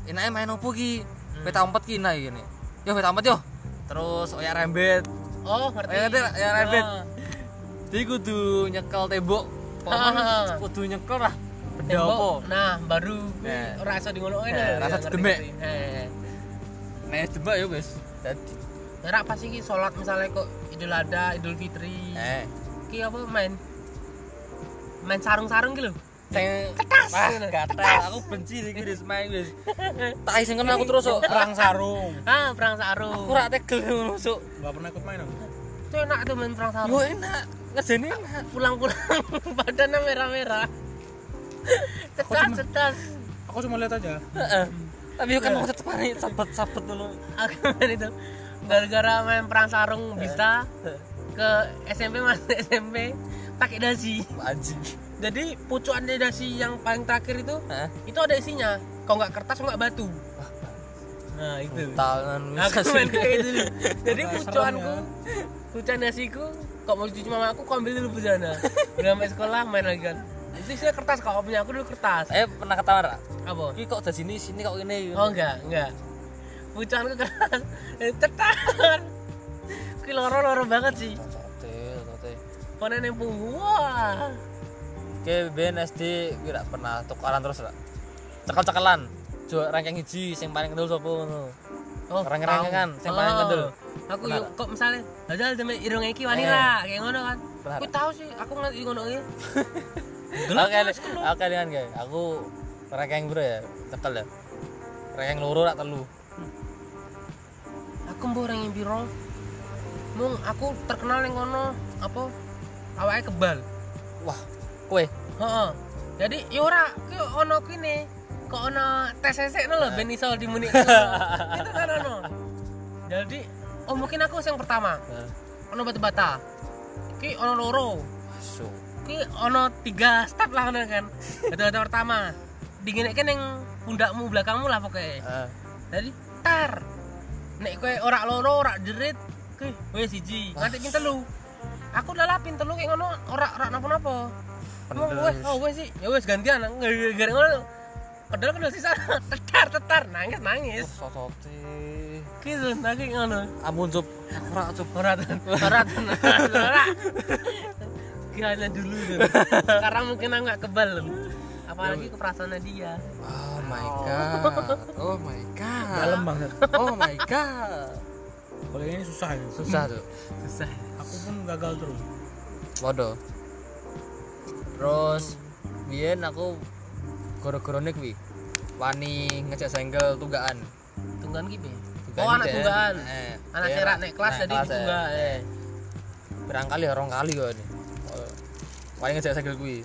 S2: enake main opo ki? Peta umpet ki nah iki. Yo peta umpet yo. Terus oyak rembet.
S3: Oh, ngerti.
S2: Oyak ngerti oyak rembet.
S3: Oh.
S2: Jadi kudu nyekel tembok. Pokoknya kudu nyekel lah. Benda
S3: Tembok,
S2: opo?
S3: Nah, baru kuwi
S2: Nah.
S3: rasa di ngono
S2: Nah,
S3: lho.
S2: rasa
S3: Ya, ngerti,
S2: demek.
S3: ngerti. Eh.
S2: Nek demek yo wis. Dadi
S3: Ora pas iki salat misalnya kok Idul Adha, Idul Fitri.
S2: eh
S3: Ki apa main? Main sarung-sarung ki lho.
S2: sing
S3: Cetas.
S2: wah gatel aku benci iki wis main wis. Tak sing kena aku terus kok.
S1: Perang sarung.
S3: Ah, perang sarung.
S2: Aku ora tegel ngono sok.
S1: Enggak pernah ikut main aku.
S3: Itu enak tuh main perang
S2: Yo
S3: sarung.
S2: enak. Ngejeni enak.
S3: Pulang-pulang badannya merah-merah. Cetas, cetas.
S1: Aku cuma lihat aja.
S2: Heeh. Tapi yo kan aku tetep main sabet-sabet ngono.
S3: Aku main itu gara-gara main perang sarung bisa ke S M P masuk S M P pakai dasi.
S2: Anjing.
S3: Jadi pucukan dasi yang paling terakhir itu
S2: Heeh.
S3: itu ada isinya. Kalau nggak kertas, kalau nggak batu. Nah itu.
S2: Tangan
S3: Aku main kayak gitu. Jadi
S1: Agak
S3: pucuanku,
S1: serem
S3: pucuan dasiku, kok mau cuci mama aku, kau ambil dulu di sana. Udah sampai sekolah main lagi kan. Itu isinya kertas, kalau punya aku dulu kertas.
S2: Eh pernah ketawa ra?
S3: Apa?
S2: Iki kok udah sini sini kok ini.
S3: Oh enggak, enggak. Pucuanku keras. Cetar. Ki loro-loro banget sih.
S2: Sote, sote.
S3: Panen yang punggung. Wah.
S2: Oke, ben S D kira pernah tukaran terus ra? Cekel-cekelan. Jo ranking siji sing paling kendel sapa ngono.
S3: Oh,
S2: Ranking-rankingan,
S3: tahu.
S2: sing paling
S3: Oh.
S2: kendel.
S3: Aku
S2: Benar.
S3: yuk kok misalnya padahal demi irung iki wani lah, kayak ngono kan.
S2: Benar.
S3: Aku tahu sih, aku ngerti ngono iki.
S2: Oke, oke dengan guys. Aku ranking bro ya, cekel ya. Ranking loro rak telu.
S3: Aku mbok orang yang biro. Mung aku terkenal yang ngono apa? Awake kebal.
S2: Wah, kowe
S3: Heeh. Jadi ya ora ki ono kene. Kok ono tes sesek lho ben iso dimuni. Itu kan ono. Jadi oh mungkin aku yang pertama. Ono batu bata. Ki ono loro.
S2: masuk.
S3: Ki ono tiga step lah ngono kan. Batu bata pertama. Dingineke ning pundakmu belakangmu lah pokoknya.
S2: Heeh.
S3: Jadi tar. Nek kowe ora loro ora jerit, ki wis siji, nganti ping telu. Aku udah lapin telu kayak ngono ora ora napa-napa. Mau wes, oh wes sih, ya wes gantian, gara-gara ngono. Padahal kan sisa tetar tetar nangis nangis.
S2: Sosote.
S3: Gitu nangis ngono.
S2: Ampun cup. Ora cup.
S3: Ora ora ora. Kira dulu tuh. Karena mungkin aku nggak kebal. Apalagi ke perasaannya dia.
S2: Oh my god. Oh my god.
S1: Dalam banget.
S2: Oh my god.
S1: Kalau ini susah ya.
S2: Susah tuh.
S3: Susah.
S1: Aku pun gagal terus.
S2: Waduh. Terus biyen aku goro-gorone kuwi wani ngejak senggel tunggakan.
S3: Tunggakan ki piye?
S2: Tunggakan
S3: Oh, anak
S2: deh.
S3: tunggakan.
S2: Eh,
S3: Anak
S2: dia
S3: serak
S2: rak-
S3: nek kelas
S2: nek
S3: jadi
S2: kelas,
S3: ditunggak.
S2: eh.
S3: Eh.
S2: Berang kali orang kali kok ini. Oh, wani ngejak senggel kuwi.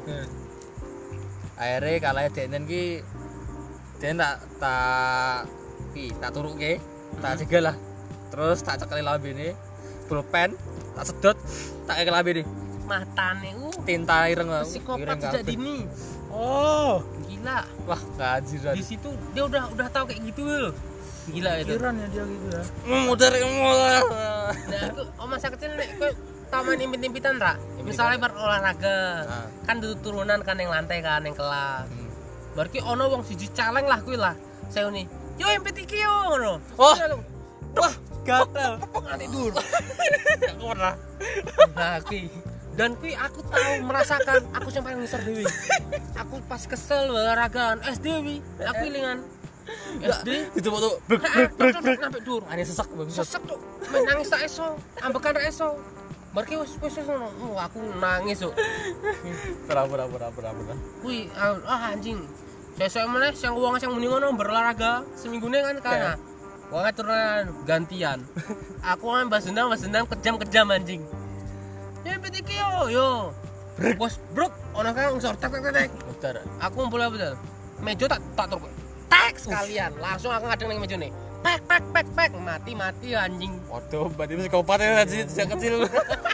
S2: Akhirnya kalahnya denen ki den tak tak pi tak turuke tak jegal lah terus tak cekeli lambene pulpen tak sedot tak keke lambene
S3: Matane uh
S2: tinta ireng
S3: psikopat sejak dini.
S1: Oh,
S3: Gila.
S2: wah kajiran
S3: Di situ dia udah udah tahu kayak gitu loh. Gila itu.
S1: pikiran ya dia gitu ya.
S2: muter muter
S3: Nah, aku oh masa kecil nek kowe tau main impit-impitan ra? Misalnya berolahraga.
S2: Nah.
S3: Kan du- turunan kan yang lantai kan yang kelas.
S2: Hmm.
S3: Berarti ono wong siji caleng lah kuwi lah. Saya nih, yo impit iki yo ngono.
S2: Oh.
S3: Terus aku,
S2: wah gatel
S3: tepuk nanti dur.
S2: aku pernah
S3: Nah, kuwi. Dan kuwi aku tahu merasakan aku yang paling besar dewi. Aku pas kesel olahragaan S D wi. Aku ilingan S D
S2: itu waktu
S3: sampai dur.
S2: aneh sesak bagus
S3: Sesek tuh, main nangis tak eso, ambekan tak eso. Barki wis wis wis ngono. Oh, aku nangis tuh.
S2: pernah pernah pernah pernah pernah
S3: Wih, ah anjing. Sesuk meneh sing wong sing muni ngono berolahraga seminggune kan kana. Wong turunan gantian. Aku kan bahas dendam, bahas dendam kejam-kejam anjing. Ya pet iki yo yo. Bos bruk ono kan unsur tek tek tek.
S2: muter
S3: Aku ngumpul apa betul? Meja tak tak turun. Tek sekalian. Langsung aku ngadeng ning mejane. Pek pek pek pek mati mati anjing.
S2: waduh berarti psikopat ya sejak kecil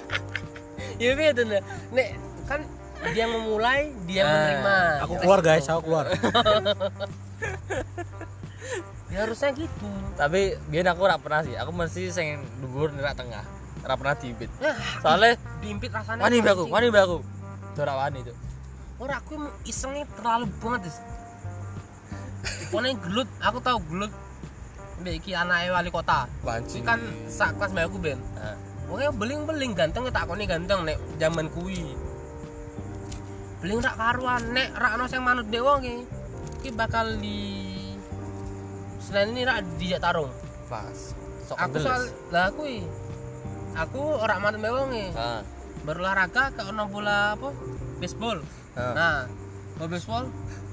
S3: Ya betul nih. Nek kan dia memulai, dia
S2: Ah,
S3: menerima.
S1: Aku keluar guys, aku keluar.
S3: Ya harusnya gitu.
S2: tapi biar aku ora pernah sih aku mesti sing dhuwur nerak tengah ora pernah diimpit
S3: Nah,
S2: soalnya
S3: diimpit rasanya.
S2: wani mbak aku
S3: anjing.
S2: wani mbak aku ora wani itu
S3: Ora aku isengnya terlalu banget. Dis. Pokoknya gelut, aku tahu gelut. Mbak iki anake wali kota.
S2: Banci.
S3: Iki kan sak kelas mbak aku ben.
S2: Heeh.
S3: Pokoknya beling-beling ganteng tak koni ganteng nek zaman kuwi. Beling rak karuan nek rak ono sing manut dek wong iki. Iki bakal di Selain ini rak dijak tarung.
S2: Pas. Sok
S3: Aku soal lah kuwi. Aku ora manut mbek wong iki.
S2: Heeh.
S3: Berolahraga ke ono bola apa? Baseball.
S2: Heeh.
S3: Nah, bola baseball.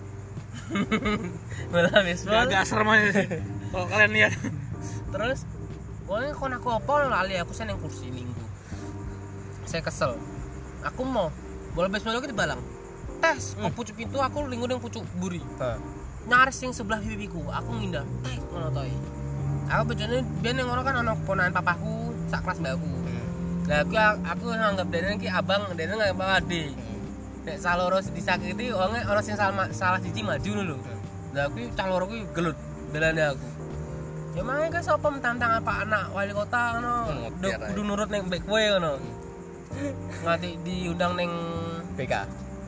S3: bola baseball.
S1: Agak serem aja sih. Kalau kalian lihat.
S3: Terus pokoknya kon aku apa lali aku seneng kursi minggu. Saya kesel. Aku mau bola baseball itu dibalang. Tes, kok pucuk pintu aku linggo ning pucuk buri.
S2: Heeh.
S3: Nyaris sing sebelah pipiku, aku ngindar. Tek ngono to. Aku bejone ben ning ngono kan ana ponakan papaku sak kelas mbak aku. Lah aku aku nganggep dene iki abang, dene nganggep adik. Nek saloro disakiti wonge ana sing salah salah siji maju lho. Lah aku cah loro kuwi gelut belane aku. Ya mae kan sapa mentantang apa anak wali kota ngono. Kudu nurut ning mbek kowe ngono. Ngati diundang ning
S2: B K.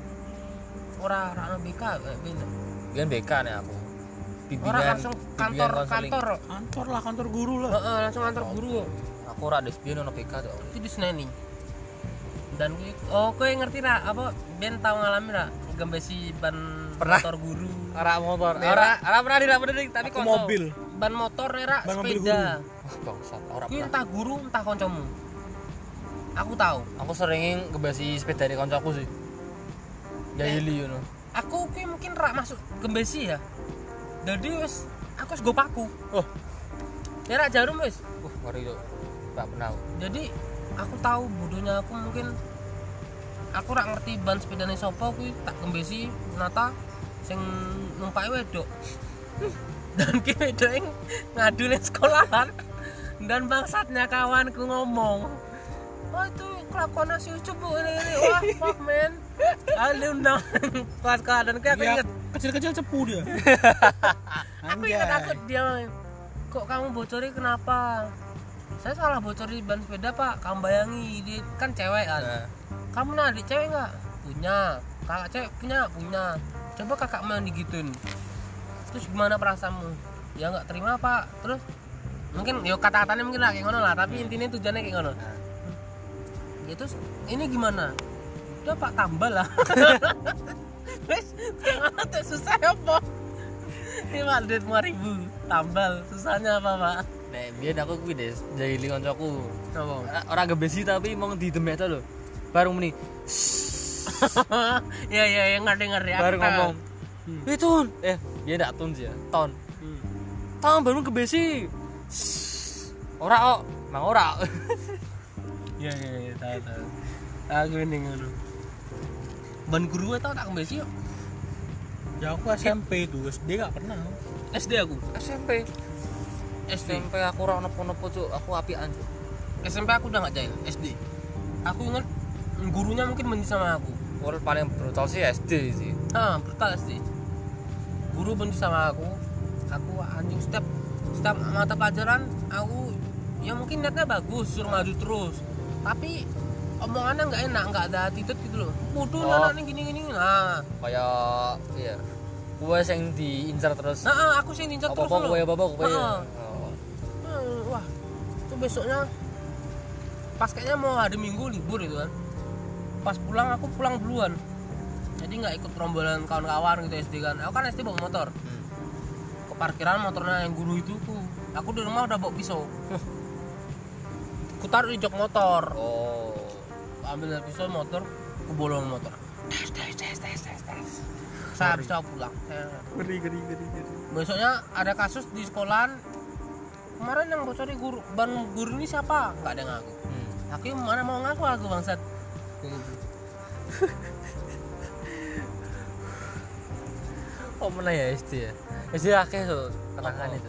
S3: ora ora ana B K ben.
S2: Biyen B K nek aku.
S3: Ora langsung kantor kantor.
S1: Kantor lah, kantor guru lah.
S3: Heeh, langsung kantor guru.
S2: Aku ora des biyen ono B K tuh.
S3: Itu di Seneni. Dan kuwi oh kowe ngerti ra apa ben tau ngalami ra gembesi ban
S2: Pernah.
S3: motor guru.
S2: Ora motor.
S3: Ora-
S2: Ora ora pernah di pernah di- tapi
S1: Aku
S2: konco.
S1: mobil.
S3: Ban motor ra
S1: Ban mobil
S3: sepeda.
S2: Wah, bangsat. Ora
S3: Kuwi
S2: pernah.
S3: entah guru entah kancamu. Aku tahu.
S2: Aku sering ngebasi sepeda di koncoku sih. Jahili ngono.
S3: Aku kuwi mungkin rak masuk gembesi ya. Jadi wis aku wis go paku.
S2: Oh,
S3: Ya rak jarum wis.
S2: uh, mari yo. Enggak pernah. aku.
S3: Jadi aku tahu bodohnya aku mungkin aku rak ngerti ban sepedane sapa kuwi tak gembesi nata sing numpake wedok. Dan ki wedok yang ngadu ning sekolahan. Dan bangsatnya kawanku ngomong, "Wah, itu kelakuan si Ucup bu ini, ini. Wah, fuck man." Ali undang kelas keadaan kayak aku
S1: Ya,
S3: inget.
S1: kecil-kecil cepu dia.
S3: Aku ingat aku dia kok kamu bocori kenapa? Saya salah bocori ban sepeda pak. Kamu bayangi dia kan cewek kan.
S2: Nah,
S3: Kamu nah adik cewek nggak? Punya. Kakak cewek punya punya. Coba kakak mau digituin. Terus gimana perasaanmu? Ya nggak terima pak. Terus mungkin yo kata-katanya mungkin lah kayak ngono lah. Tapi intinya tujuannya kayak ngono. Ya terus ini gimana? Udah pak tambah lah. Wes yang ada susah apa? Ini pak duit lima ribu tambal susahnya apa pak?
S2: nek biyen aku kuwi des jahili koncoku.
S3: Apa?
S2: Ora gebesi tapi mong didemek to lho. Baru muni
S3: Ya ya yang ngerti-ngerti. Aku
S2: baru
S3: tahu.
S2: ngomong. "Eh, Tun." Eh, dia ndak tun sih ya. Ton.
S3: Hmm.
S2: Ton baru gebesi. Ora kok, mang ora.
S3: Ya ya ya tahu tahu. Aku ini ngono. Ban guru tau tak kembali yuk.
S1: Ya aku S M P itu, S D gak pernah.
S3: S D aku.
S2: S M P.
S3: S D.
S2: S M P aku ora ono-ono cuk, aku apian. Cuk.
S3: S M P aku udah nggak jahil. S D. Aku ingat gurunya mungkin benci sama aku.
S2: Orang paling brutal sih S D sih.
S3: Ah, brutal S D. Guru benci sama aku. Aku anjing setiap setiap mata pelajaran aku ya mungkin niatnya bagus suruh maju terus. Tapi omongannya nggak enak, nggak ada attitude gitu loh. Bodoh
S2: Oh.
S3: anak ini gini-gini. Nah,
S2: Kayak iya. Gue yang diincar terus.
S3: nah ah, aku sih ninjak terus
S2: Apa-apa
S3: loh.
S2: gue apa-apa gue.
S3: Heeh.
S2: Oh.
S3: Hmm, wah, itu besoknya pas kayaknya mau hari Minggu libur itu kan. Pas pulang aku pulang duluan. Jadi nggak ikut rombongan kawan-kawan gitu S D kan. Aku kan S D bawa motor.
S2: Hmm.
S3: Ke parkiran motornya yang guru itu ku. Aku di rumah udah bawa pisau. Ku taruh di jok motor.
S2: Oh.
S3: Ambil dari pisau motor, ku bolong motor. Tes tes tes tes tes tes. Saya habis itu aku pulang. Saya-
S1: Geri geri geri geri.
S3: Besoknya ada kasus di sekolahan. Kemarin yang bocor di guru ban guru ini siapa? Enggak ada yang ngaku.
S2: Hmm.
S3: Aku mana mau ngaku aku bangsat.
S2: Oh mana ya S D ya? S D akeh tuh kenangan
S3: Apa?
S2: itu.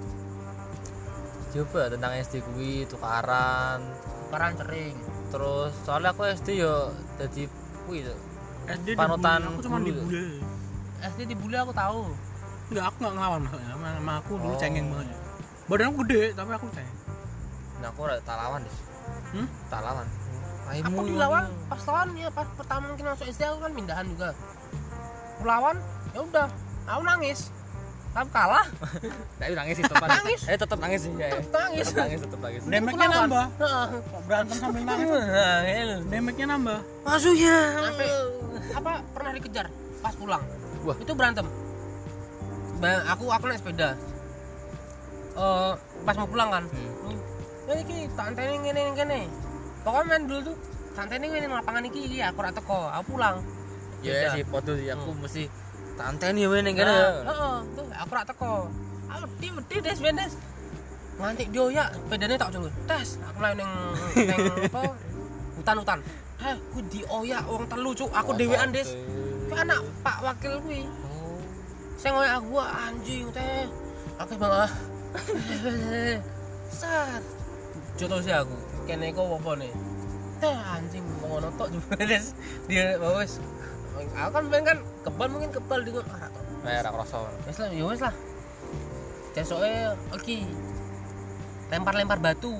S2: Coba tentang S D kuwi tukaran.
S3: Tukaran sering.
S2: Terus soalnya aku S D yo dadi kuwi tuh.
S1: S D
S2: Panutan
S1: dibully, aku cuma
S2: guru
S1: dibully.
S3: S D dibully aku tahu.
S1: Enggak, aku enggak ngelawan maksudnya. Sama sama aku dulu
S2: Oh.
S1: cengeng banget. Badan aku gede, tapi aku cengeng.
S2: Nah aku ora tak lawan deh.
S1: Hmm?
S2: Tak lawan.
S3: Aku dilawan pas lawan ya pas pertama mungkin masuk S D aku kan pindahan juga. Aku lawan, ya udah, aku nangis. Kamu kalah.
S2: Tapi nangis sih tetap.
S3: Nangis.
S2: Eh tetap nangis sih ya.
S3: Nangis.
S2: Tetap nangis tetap nangis.
S1: Damage-nya nambah.
S3: Heeh.
S1: Kok berantem sambil nangis?
S3: Nah, ini.
S1: Damage-nya nambah.
S2: Masuk ya.
S3: Sampai apa pernah dikejar pas pulang.
S2: Wah.
S3: Itu berantem. Ba- aku aku naik sepeda. Eh pas mau pulang kan.
S2: Hmm.
S3: Ya iki tak anteni ngene ngene. Pokoknya main dulu tuh. Santene ngene lapangan iki iki aku ora teko. Aku pulang.
S2: Ya sih foto sih aku mesti tanteni ya ning kene.
S3: Heeh, tuh aku rak teko. Aku wedi des bendes. Nganti dioyak, bedane tak jenggo. Tes, aku lagi ning ning apa? Hutan-hutan. Heh, ku dioyak wong telu cuk. Aku dhewean des. Ku anak Pak Wakil kuwi.
S2: Oh.
S3: Sing ngoyak aku anjing teh. Aku bang. Sat. Joto sih aku. Kene kok apa nih? Teh anjing ngono tok juga des. Dia wis. Aku kan main kan kebal mungkin kebal dengan arah tok.
S2: Kayak ora krasa.
S3: Wes lah, ya wes lah. Cesoke iki lempar-lempar batu.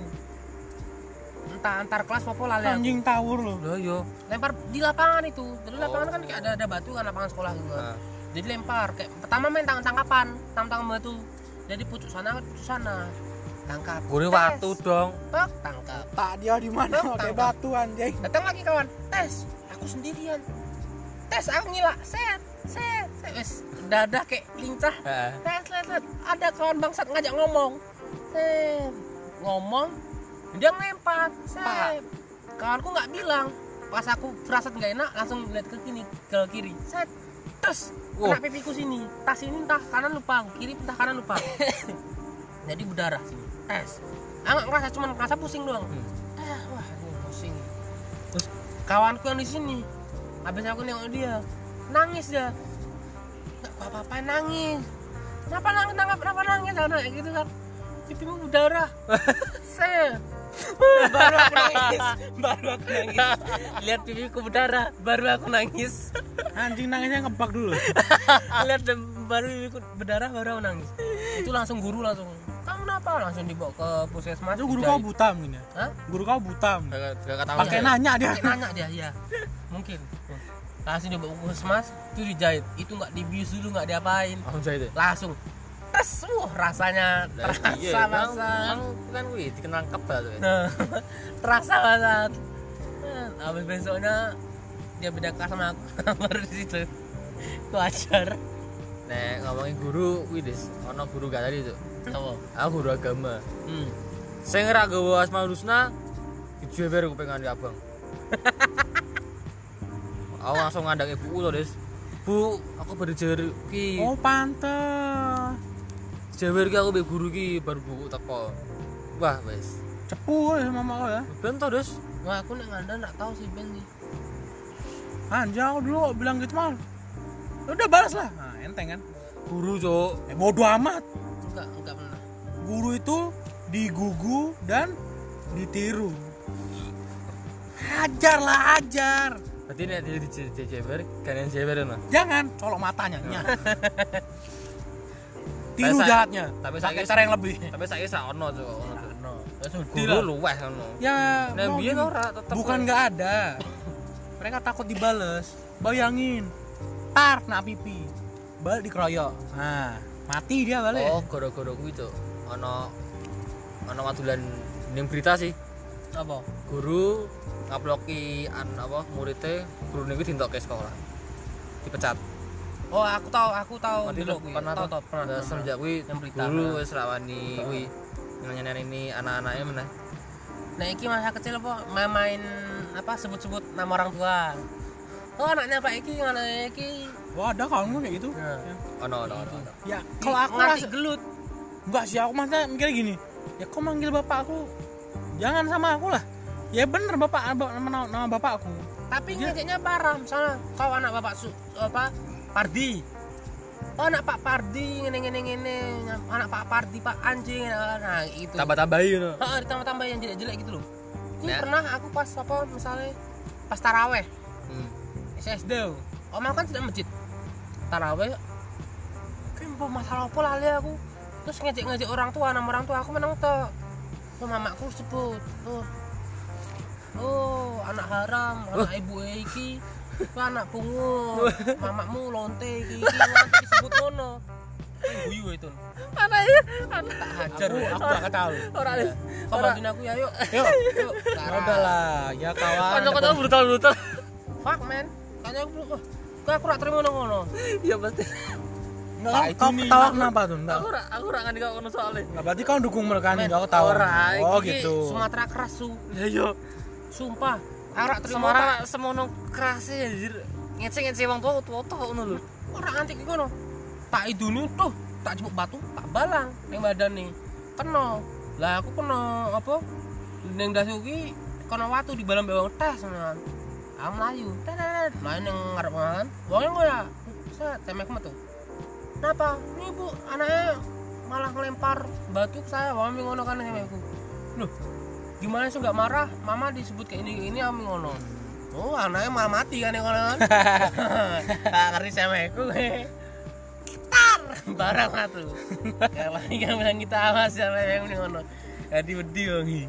S3: Entah antar kelas apa lali aku.
S1: Anjing tawur loh.
S2: Loh yo.
S3: Lempar di lapangan itu. Jadi
S2: Oh.
S3: lapangan kan kayak ada ada batu kan lapangan sekolah gitu.
S2: Nah.
S3: Jadi lempar kayak pertama main tangan-tangkapan, tangkap batu. Jadi pucuk sana pucuk sana. Tangkap.
S2: Gure
S3: Tes.
S2: watu dong.
S3: Tek, tangkap.
S1: Tak dia di mana
S3: Tangkap.
S1: pakai batu anjing.
S3: Datang lagi kawan. Tes, aku sendirian. Tes aku ngilak. Set, set, set. Wes, dadah kayak lincah.
S2: Heeh.
S3: Lihat, lihat, lihat. Ada kawan bangsat ngajak ngomong. Set. Ngomong, dia ngelempar. Set. Kawanku nggak bilang. Pas aku firasat nggak enak, langsung lihat ke kiri, ke kiri. Set. Terus,
S2: Wah.
S3: kena pipiku sini. Tas ini entah kanan lupa, kiri entah kanan lupa. Jadi berdarah sini. Tes. Ah nggak ngerasa, cuma ngerasa pusing doang.
S2: Hmm.
S3: Eh, wah, ini pusing. Terus kawanku yang di sini, habis aku nengok dia, nangis dia. Nggak apa-apa nangis. Kenapa nangis? Kenapa, kenapa nangis? Karena kayak gitu kan. Pipimu berdarah. Set. Baru aku nangis. Baru aku nangis. Lihat pipiku berdarah, baru aku nangis.
S1: Anjing nangisnya ngebak dulu.
S3: Lihat dem- baru pipiku berdarah, baru aku nangis. Itu langsung guru langsung. Kamu kenapa? Langsung dibawa ke puskesmas.
S1: Itu guru
S3: dijahit.
S1: kau buta mungkin ya?
S3: Hah?
S1: Guru kau buta. mungkin.
S2: Gak gak ketahuan.
S1: Pakai
S2: ya?
S1: nanya dia.
S3: Pakai nanya dia, ya. Mungkin. Langsung dibawa ke puskesmas, itu dijahit. Itu nggak dibius dulu, nggak diapain.
S2: Langsung jahit. ya?
S3: Langsung. Tes, wah rasanya terasa
S2: Iya,
S3: banget.
S2: Bang kan kuwi dikenal kebal tuh.
S3: Nah, terasa banget. Nah, habis besoknya dia beda kelas sama aku. Baru di situ. Ku ajar.
S2: Nek ngomongin guru kuwi Dis, ono guru gak tadi tuh.
S3: Apa?
S2: Aku guru agama.
S3: Hmm.
S2: Sing ora gawa Asmaul Husna dijewer kuping kandhe abang. Aku langsung ngandang ibuku to, Dis. Bu, aku baru jewer ki.
S1: Oh pantes.
S2: Jewer ki aku mbek guru ki baru buku teko. Wah, wis.
S1: Cepu ya mama kau ya.
S2: Ben to, Dis.
S3: Wah, aku nek ngandang enggak tahu sih Ben nih.
S1: Anjing aku dulu bilang gitu mal. Udah balas lah. Nah, enteng kan.
S2: Guru, Cuk.
S1: Eh bodo amat.
S3: Enggak, enggak pernah.
S1: Guru itu digugu dan ditiru. Hajar lah, hajar.
S2: Berarti nek dia dijewer, kalian jewer no.
S1: Jangan colok matanya. Nyah. Tiru
S2: Tapi saya-
S1: jahatnya.
S2: tapi
S1: Pakai
S2: saya-
S1: cara yang lebih.
S2: Tapi saiki sak ono, Cuk. Ono, Cuk.
S3: No. Terus
S2: Guru luweh ono.
S1: Ya,
S2: Nek
S1: mau
S2: biyen
S1: gini.
S2: ora tetep.
S1: bukan nggak ada. Mereka takut dibales. Bayangin, tar kena pipi, balik dikeroyok. Nah, mati dia balik.
S2: Oh, gara-gara kuwi, Cuk. Ono ono watulan ning berita sih.
S3: apa?
S2: Guru ngaploki an apa muridnya guru niku dintokke sekolah. Dipecat.
S3: Oh, aku tahu, aku tahu
S2: Nanti
S3: dulu.
S2: tuh pernah
S3: tahu,
S2: tuh.
S3: tahu, pernah.
S2: Nah,
S3: pernah.
S2: semenjak kuwi
S3: Yang berita.
S2: guru wis ra wani kuwi nanya ini anak-anaknya meneh.
S3: Nah, iki masa kecil apa main, main apa sebut-sebut nama orang tua. Oh, anaknya Pak Iki, anaknya Iki.
S1: Wah, ada kawan gue kayak gitu.
S3: Nah.
S1: Ya.
S2: Ono ono ono. ono.
S1: Ya, kalau aku
S3: ngerti
S1: rasa
S3: gelut.
S1: enggak sih, aku masa mikirnya gini. Ya kau manggil bapak aku, jangan sama aku lah. Ya bener bapak nama, nama bapak aku.
S3: Tapi
S1: Dia-
S3: ngejeknya parah, misalnya kau anak Bapak Su, apa? Pardi. Oh, anak Pak Pardi ngene ngene ngene, anak Pak Pardi Pak anjing. Nah, itu.
S2: Tambah-tambahin no.
S3: Heeh, ditambah-tambah yang jelek-jelek gitu loh. Ini
S2: Nah.
S3: pernah aku pas apa misalnya pas taraweh
S2: Hmm.
S3: S S D. Om aku kan tidak masjid. Taraweh. Kempo masalah apa lali aku. Terus ngejek-ngejek orang tua, nama orang tua aku menang tok. Oh, mamaku sebut. Oh. Oh, anak haram, anak ibu iki. Itu anak pungut. Mamamu lonte iki, iki nanti disebut ngono. guyu itu.
S2: Mana ya?
S3: Tak hajar.
S1: Aku aku gak tahu.
S2: Ora
S3: Iya. Kau bantuin aku ya, yuk.
S1: Yuk.
S3: Yuk.
S1: Ya udahlah, ya kawan.
S2: Kanca-kanca brutal-brutal.
S3: Fuck man. Kayaknya aku oh, kok aku ora terima ngono.
S2: Iya pasti.
S1: Enggak,
S3: Nah,
S1: kau,
S3: itu
S1: kau
S3: nih.
S1: ketawa kenapa tuh? Enggak.
S2: Aku ora aku ora ngandi kok ngono soalnya.
S1: Enggak berarti kau dukung mereka nih,
S3: Men,
S1: enggak ketawa.
S2: ora,
S1: Oh,
S2: iki
S1: gitu.
S3: Sumatera keras su.
S2: Ya yo.
S3: Sumpah. Aku ora terima.
S2: Semara semono kerase anjir. Ngece-ngece wong tua tua ngono lho.
S3: Ora antik iki ngono. Tak iduni tuh, tak jebuk batu, tak balang ning badan nih. Kena. Lah aku kena apa? Ning dasu ki kena watu di balang bewang tes ngono. Aku melayu. Tetet. Main ning ngarep kan. Wong kok ya. Set temek metu. Kenapa? Ini bu, anaknya malah ngelempar batu ke saya. Wong ngono kan temekku. Loh, gimana sih nggak marah? Mama disebut kayak ini ini ami ngono. Oh, anaknya malah mati kan yang ngono kan. Tak ngerti temekku. Tar barang atuh. Kalau yang bilang kita awas sama yang ini ngono. Jadi wedi wangi.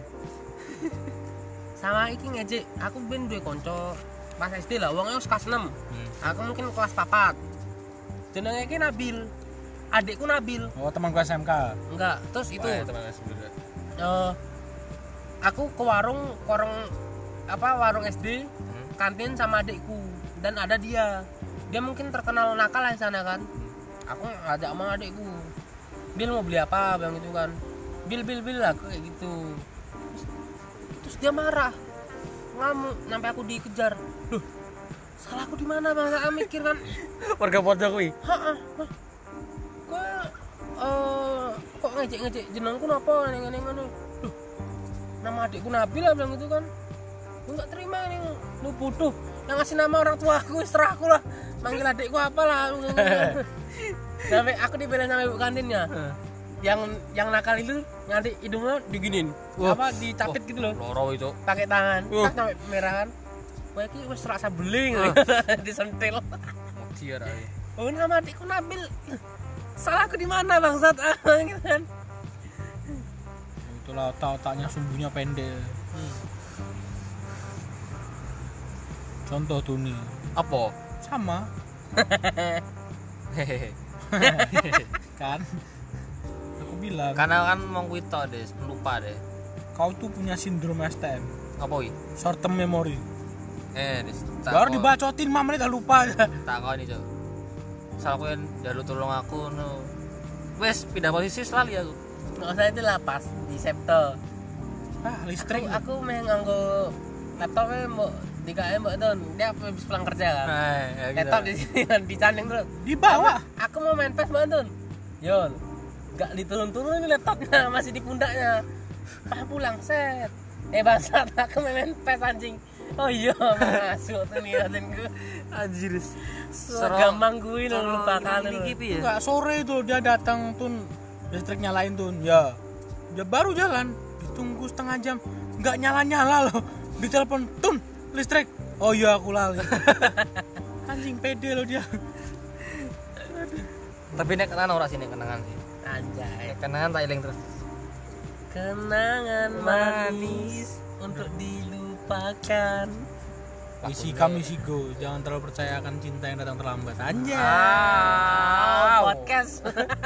S3: Sama iki ngejek, aku ben duwe kanca pas S D lah, wongnya wis kelas enam. Aku mungkin kelas papat. Jenenge iki Nabil. Adikku Nabil.
S1: Oh, temanku S M K.
S3: Enggak, terus itu
S2: Wah, teman sebenarnya.
S3: eh aku ke warung warung apa warung S D kantin sama adikku dan ada dia. Dia mungkin terkenal nakal di sana kan. Aku ngajak sama adikku. Bil mau beli apa? Bilang gitu kan. Bil bil bil lah kayak gitu. Terus, terus dia marah. Ngamuk sampai aku dikejar. Loh, salahku di mana Bang? Saya mikir kan.
S2: Warga pojok kuwi.
S3: Heeh. Kok eh kok ngejek-ngejek jenengku napa ning ngene ngono. Loh. Nama adikku Nabil lah bilang gitu kan. Gue enggak terima nih. Lu bodoh. Yang ngasih nama orang tua aku, serah aku lah. Manggil adikku apa lah. Sampai aku dibelain sama ibu kantinnya. Yang yang nakal itu nanti hidungnya diginin.
S2: Wah.
S3: Apa dicapit gitu loh.
S2: Loro itu.
S3: Pakai tangan.
S2: Wah.
S3: Tak sampai merah kan. Wah iki wis rasa beling disentil.
S2: Dia ra.
S3: Oh, nama adikku Nabil. Salahku di mana bangsat? Ah, gitu kan.
S1: Itulah otak-otaknya sumbunya pendek. Contoh tuh nih.
S2: Apa?
S1: Sama
S2: Hehehe.
S1: kan. Aku bilang,
S2: Karena kan mau kuwi tok deh, lupa deh.
S1: kau tuh punya sindrom S T M,
S2: Apa kuwi?
S1: short term memory.
S2: Eh, dis.
S1: Baru dibacotin lima menit udah lupa aja.
S2: Tak kau ini, Cok. Misal aku yang jalur tolong aku no. Wes pindah posisi selalu aku.
S3: Nggak usah itu lah pas di Septo.
S1: Ah, listrik.
S3: Aku, aku meh nganggo laptopnya mbok di K M mbok Don. Dia habis pulang kerja kan.
S2: Nah, ya gitu.
S3: Laptop di sini kan dicanding dulu.
S1: Di bawah.
S3: Aku mau main P E S Mbak Don. Yon. Enggak diturun-turun ini laptopnya, masih di pundaknya. Pas pulang set. Eh bangsat, aku main P E S anjing. Oh iya, masuk tuh nih gue.
S2: Anjir.
S3: Gampang gue lo lupakan
S2: ini
S3: lo.
S2: gitu ya.
S1: Enggak, sore itu dia datang tun, listrik nyalain tun. Ya. Dia baru jalan, ditunggu setengah jam, enggak nyala-nyala loh. Ditelepon, "Tun, listrik." Oh iya, aku lali. Anjing pede loh dia.
S2: Tapi nek kenangan ora sih nek kenangan sih.
S3: Anjay.
S2: Nek kenangan tak eling terus.
S3: Kenangan manis untuk dilupakan.
S1: Isi kami isi go, jangan terlalu percaya akan cinta yang datang terlambat. Anjay.
S3: Ah, podcast.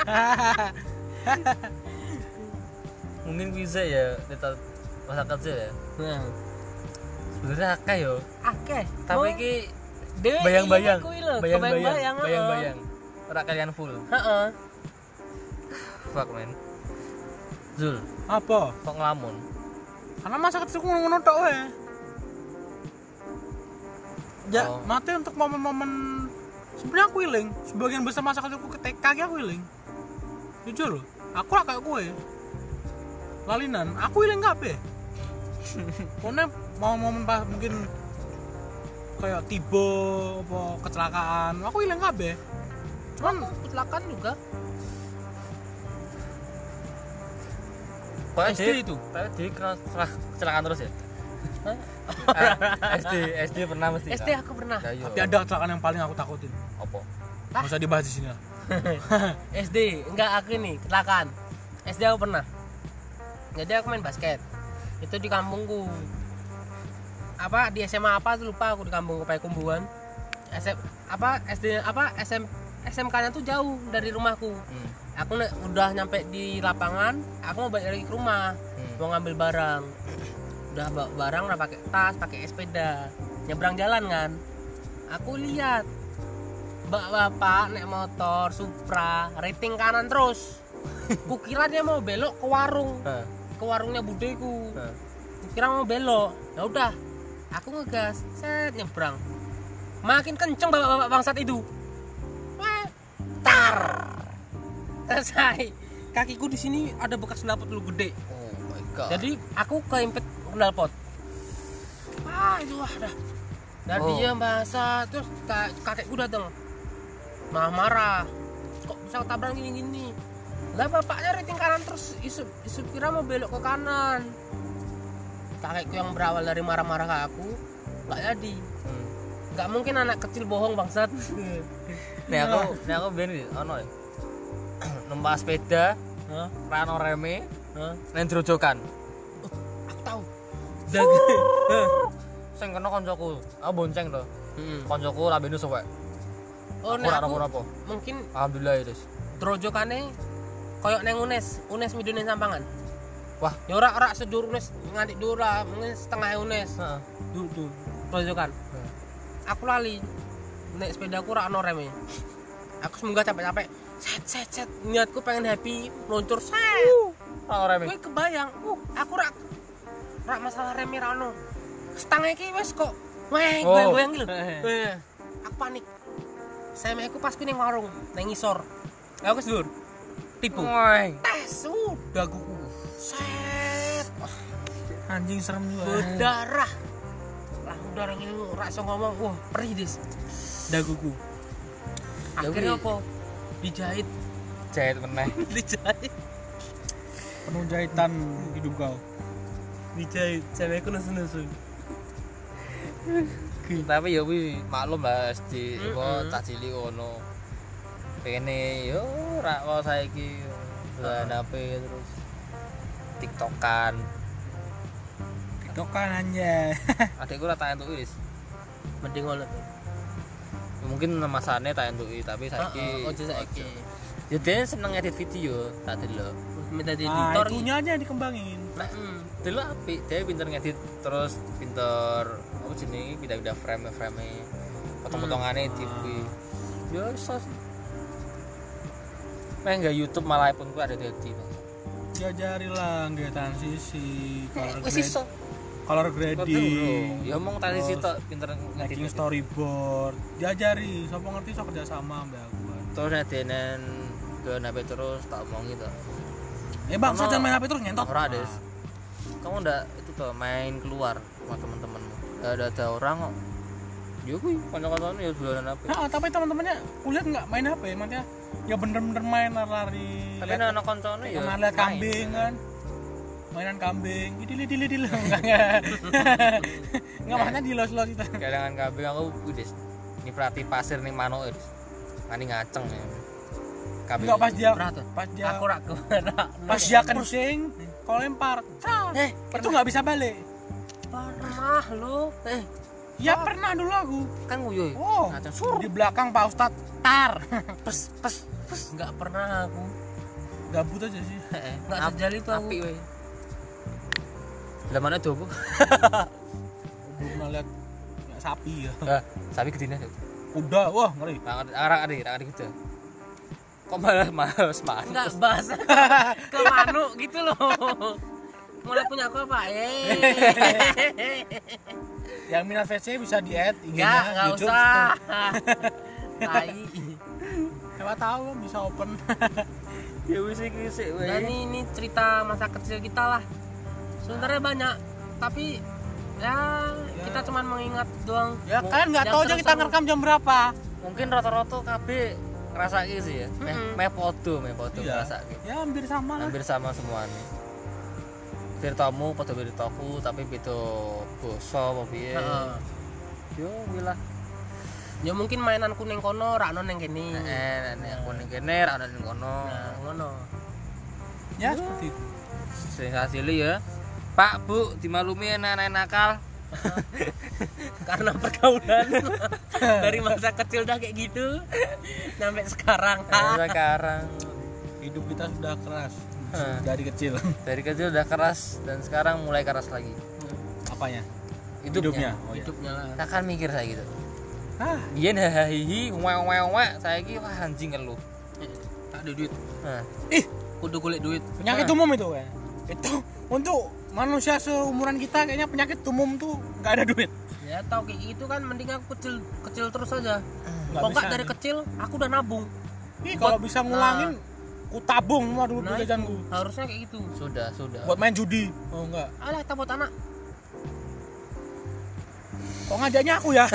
S2: Mungkin bisa ya kita masa kecil ya.
S3: Nah,
S2: Sebenarnya akeh yo.
S3: akeh.
S2: Tapi iki
S3: Dewe
S2: bayang-bayang.
S3: iya kuwi lho,
S2: Bayang-bayang.
S3: kebayang-bayang,
S2: Bayang-bayang. Ora kalian full.
S3: Heeh.
S2: Fuck man. Zul,
S1: Apa?
S2: kok ngelamun?
S1: Karena masa kecilku ngono tok wae. Ya,
S2: Oh.
S1: mati untuk momen-momen sebenarnya aku iling. Sebagian besar masa kecilku ke T K aku iling. Jujur loh, aku lah kayak gue. Lalinan, aku iling kabeh. Pokoknya mau momen pas mungkin kayak tiba apa kecelakaan, aku iling kabeh. Cuman
S3: Aku kecelakaan juga.
S2: Kok
S1: S D itu?
S2: Tapi di kena kecelakaan terus ya?
S3: Hah?
S2: S D, S D pernah mesti.
S3: S D aku pernah.
S2: Ya, iya.
S1: tapi ada kecelakaan yang paling aku takutin.
S2: Apa?
S1: Nggak usah dibahas di sini lah.
S3: S D, enggak aku nih, kecelakaan. S D aku pernah. Jadi aku main basket. Itu di kampungku. Apa di S M A apa tuh lupa aku di kampung Kupai Kumbuan. S M apa S D apa S M S M K-nya tuh jauh dari rumahku.
S2: Hmm.
S3: Aku nek udah nyampe di lapangan, aku mau balik lagi ke rumah,
S2: Hmm.
S3: mau ngambil barang. Udah bawa barang, udah pakai tas, pakai sepeda, nyebrang jalan kan. Aku lihat bapak-bapak naik motor Supra, rating kanan terus. Kukira dia mau belok ke warung,
S2: Hah.
S3: ke warungnya budeku.
S2: Hah.
S3: Kukira mau belok, ya udah, aku ngegas, set nyebrang. Makin kenceng bapak-bapak bangsat itu. Wah, tar. Selesai. Kakiku di sini ada bekas knalpot dulu gede.
S2: Oh my god.
S3: Jadi aku keimpet knalpot. Ah itu wah dah. Dan
S2: Oh.
S3: dia bahasa terus kak- kakekku datang. Marah-marah. Kok bisa tabrak gini-gini? Lah bapaknya rating kanan terus isu isu kira mau belok ke kanan. Kakekku yang berawal dari marah-marah ke aku nggak jadi.
S2: Hmm.
S3: Nggak mungkin anak kecil bohong bangsat.
S2: Nih aku, nih aku biar nih, ono ya. Numpak sepeda,
S3: Hah?
S2: rano reme,
S3: Hah?
S2: neng drojokan.
S3: Aku tahu.
S2: Sing kena koncoku, aku bonceng to.
S3: Hmm.
S2: Koncoku lambene suwek.
S3: Oh,
S2: Aku
S3: nek
S2: ora
S3: aku
S2: apa-apa.
S3: mungkin
S2: Alhamdulillah ya, Des.
S3: drojokane koyok neng Unes, Unes midune sampangan.
S2: Wah.
S3: Ya ora ora sedur Unes nganti dur lah, mungkin setengah Unes.
S2: Heeh.
S3: Duh, duh, drojokan.
S2: Hmm.
S3: Aku lali. Nek sepedaku ora ono reme. Aku semoga capek-capek. Set set set. Niatku pengen happy, meluncur set.
S2: Rano reme.
S3: Kowe kebayang, uh, aku rak rak masalah reme ra ono. Setengah iki wis kok. Weh,
S2: Oh.
S3: goyang-goyang iki lho. Weh, aku panik. Saya meku pas ku ning warung, ning ngisor. Aku wis dur. Tipu.
S2: Woi.
S3: Tes udah guku. Set. Wah,
S1: Anjing serem juga.
S3: berdarah. Lah udara ini ora iso ngomong. Wah, perih, Dis. Daguku. Akhirnya
S2: Tapi-
S3: apa? Dijahit.
S2: Jahit meneh.
S3: Dijahit.
S1: Penuh jahitan hidup kau.
S3: Dijahit. Cewekku nesu-nesu.
S2: Tapi ya kuwi maklum lah di
S3: Mm-mm.
S2: apa cah cilik ngono. Pengene yo ora kok saiki dolan H P terus TikTokan.
S1: TikTokan anjay.
S2: Adekku ora tak entuki wis.
S3: Mending ngono.
S2: Mungkin masane tak entuki tapi saiki
S3: Heeh, ojo saiki.
S2: Ya dia seneng edit video, tak delok.
S3: Minta di
S1: Nah,
S3: editor.
S1: itunya aja yang dikembangin.
S3: Heeh.
S2: Delok apik, dia pinter ngedit terus pinter apa jenenge pindah-pindah frame-frame. Potong-potongane di kuwi. Ya iso. Main enggak YouTube malah pun ku ada dadi.
S1: Diajari lah nggak transisi, color
S3: Wis
S1: grade,
S3: iso.
S1: color
S2: Kok
S1: grading,
S2: ya omong tadi sih tok pinter
S1: making
S2: ngedit.
S1: storyboard. Diajari, sapa ngerti sok kerja sama mbak aku.
S2: Terus ngedenen ke H P terus tak omongi to.
S1: Eh bang,
S2: Ono-
S1: saya main H P terus nyentot.
S2: Ora, Des. Kamu ndak itu tuh main keluar sama teman-temanmu. Enggak ada ada orang kok. Ya kuwi kanca-kancane ya dolanan H P.
S1: Nah, tapi teman-temannya kulihat nggak main H P, maksudnya ya bener-bener main lari.
S2: Tapi anak kancane ya.
S1: Kemana lihat
S2: main.
S1: kambing kan? Mainan kambing, idil idil idil enggak enggak. Enggak maksudnya di los los itu.
S2: Kadangan kambing aku kuwi Des. Ini perhati pasir ning manuk Des. Ngani ngaceng ya. Kambing.
S1: Enggak pas dia
S3: Berat.
S1: pas dia
S3: Aku rak kemana?
S1: pas dia kencing, kalau lempar, eh itu nggak bisa balik.
S3: Pernah lu. Eh,
S1: Ya pernah dulu aku.
S2: Kan nguyu.
S1: Oh,
S2: Ngaceng sur.
S1: di belakang Pak Ustadz tar.
S2: Pes pes pes.
S3: enggak pernah aku.
S1: Gabut aja sih.
S2: Heeh.
S3: Enggak sejali itu aku.
S2: Apik wae. Lah mana dobo?
S1: Belum pernah lihat ya, sapi ya.
S2: Ah, sapi gedine.
S1: Kuda, wah ngeri.
S2: Arang ade, arang ade gitu. Kok malah males malas.
S3: Enggak bahas ke manuk gitu loh. Mulai punya aku apa? Eh.
S1: Yang minat V C bisa di add I G-nya
S3: Enggak, enggak
S1: YouTube.
S3: usah. Tai.
S1: Siapa tahu kan bisa open.
S2: Ya wis iki sik wae.
S3: Dan ini, ini cerita masa kecil kita lah. Sebenarnya banyak, tapi ya,
S1: Ya.
S3: kita cuma mengingat doang.
S1: Ya kan nggak
S3: Yang
S1: tahu aja kita
S3: seru-seru.
S1: ngerekam jam berapa.
S2: Mungkin rata-rata kabeh ngrasake sih ya. Meh
S3: Mm-mm.
S2: meh podo, meh podo
S1: Iya.
S2: ngrasake.
S1: Ya hampir sama lah.
S2: Hampir sama semuanya. Ceritamu padha ceritaku tapi beda basa apa piye.
S3: Heeh.
S2: Yo wilah.
S3: Ya mungkin mainan kuning kono ra ono ning kene.
S2: Heeh, nek aku ning kene ra ono ning kono.
S3: Nah, ngono.
S1: Ya seperti itu.
S2: Sing hasilnya ya. Pak, Bu, dimaklumi anak-anak nakal.
S3: karena pergaulan. Dari masa kecil udah kayak gitu sampai sekarang.
S2: Nah, sekarang
S1: Hidup kita sudah keras
S2: Hah.
S1: dari kecil.
S2: dari kecil udah keras dan sekarang mulai keras lagi.
S1: Apanya?
S2: Hidupnya.
S1: Oh, iya.
S3: Hidupnya lah.
S2: Kita kan mikir saya gitu.
S1: Ah,
S2: Biyen hahihi wewe-wewe saiki wah anjing keluh.
S3: Eh, tak ada duit.
S2: Nah,
S1: ih,
S3: Kudu kulit duit.
S1: penyakit umum itu kan. Itu untuk manusia seumuran kita kayaknya penyakit umum tuh nggak ada duit.
S3: Ya tau kayak gitu kan mending aku kecil kecil terus aja.
S1: Nggak
S3: Pokoknya
S1: bisa
S3: dari
S1: nih.
S3: kecil aku udah nabung.
S1: Ih, kalau
S3: Buat-
S1: bisa ngulangin, ku tabung semua dulu
S3: Nah,
S1: jajanku.
S3: itu, harusnya kayak gitu.
S2: sudah, sudah.
S1: Buat main judi. Oh enggak.
S3: Alah kita buat anak.
S1: Kok ngajaknya aku ya?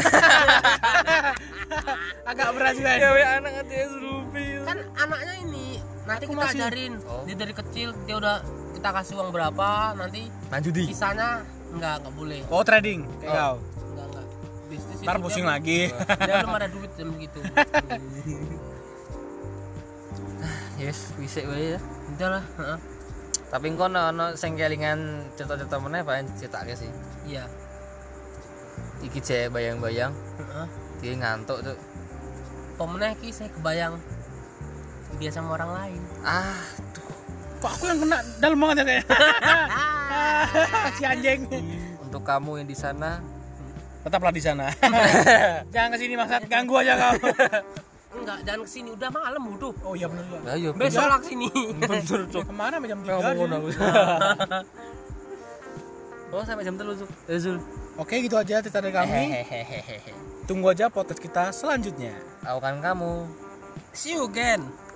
S1: Agak berat juga ya.
S2: Cewek anak aja Ruby.
S3: Kan anaknya ini nanti
S1: Aku
S3: kita
S1: masih-
S3: ajarin.
S2: Oh.
S3: Dia dari kecil dia udah kita kasih uang berapa nanti
S2: Manjudi.
S3: sisanya enggak enggak boleh.
S1: Oh, trading kayak
S2: Oh.
S1: kau.
S3: Enggak enggak. Bisnis
S1: Ntar
S3: itu
S1: pusing
S3: dia-
S1: lagi.
S3: Dia belum ada duit jam begitu.
S2: Yes, bisa wae ya.
S3: Udah lah, heeh.
S2: Tapi engko ono ono sing kelingan cerita-cerita meneh paling diceritake sih.
S3: Iya.
S2: Iki jek bayang-bayang,
S3: Heeh.
S2: dia ngantuk tuh.
S3: Pemenang ki saya kebayang dia sama orang lain.
S2: Ah,
S1: Kok aku yang kena dalam banget ya kayak. Si anjing.
S2: untuk kamu yang di sana,
S1: Tetaplah di sana. Jangan kesini maksud ganggu aja kau.
S3: Enggak, jangan kesini udah malam udah.
S1: Oh iya benar juga.
S2: lah yo
S3: Besok lah kesini.
S2: bener
S1: Ya, kemana jam tiga?
S2: Kamu
S1: sih?
S2: ngono. Oh, sampai jam tiga Zul. Eh, Zul.
S1: Oke, gitu aja cerita dari kami.
S2: Hehehehe.
S1: Tunggu aja podcast kita selanjutnya.
S2: Tahu kan kamu.
S3: See you again.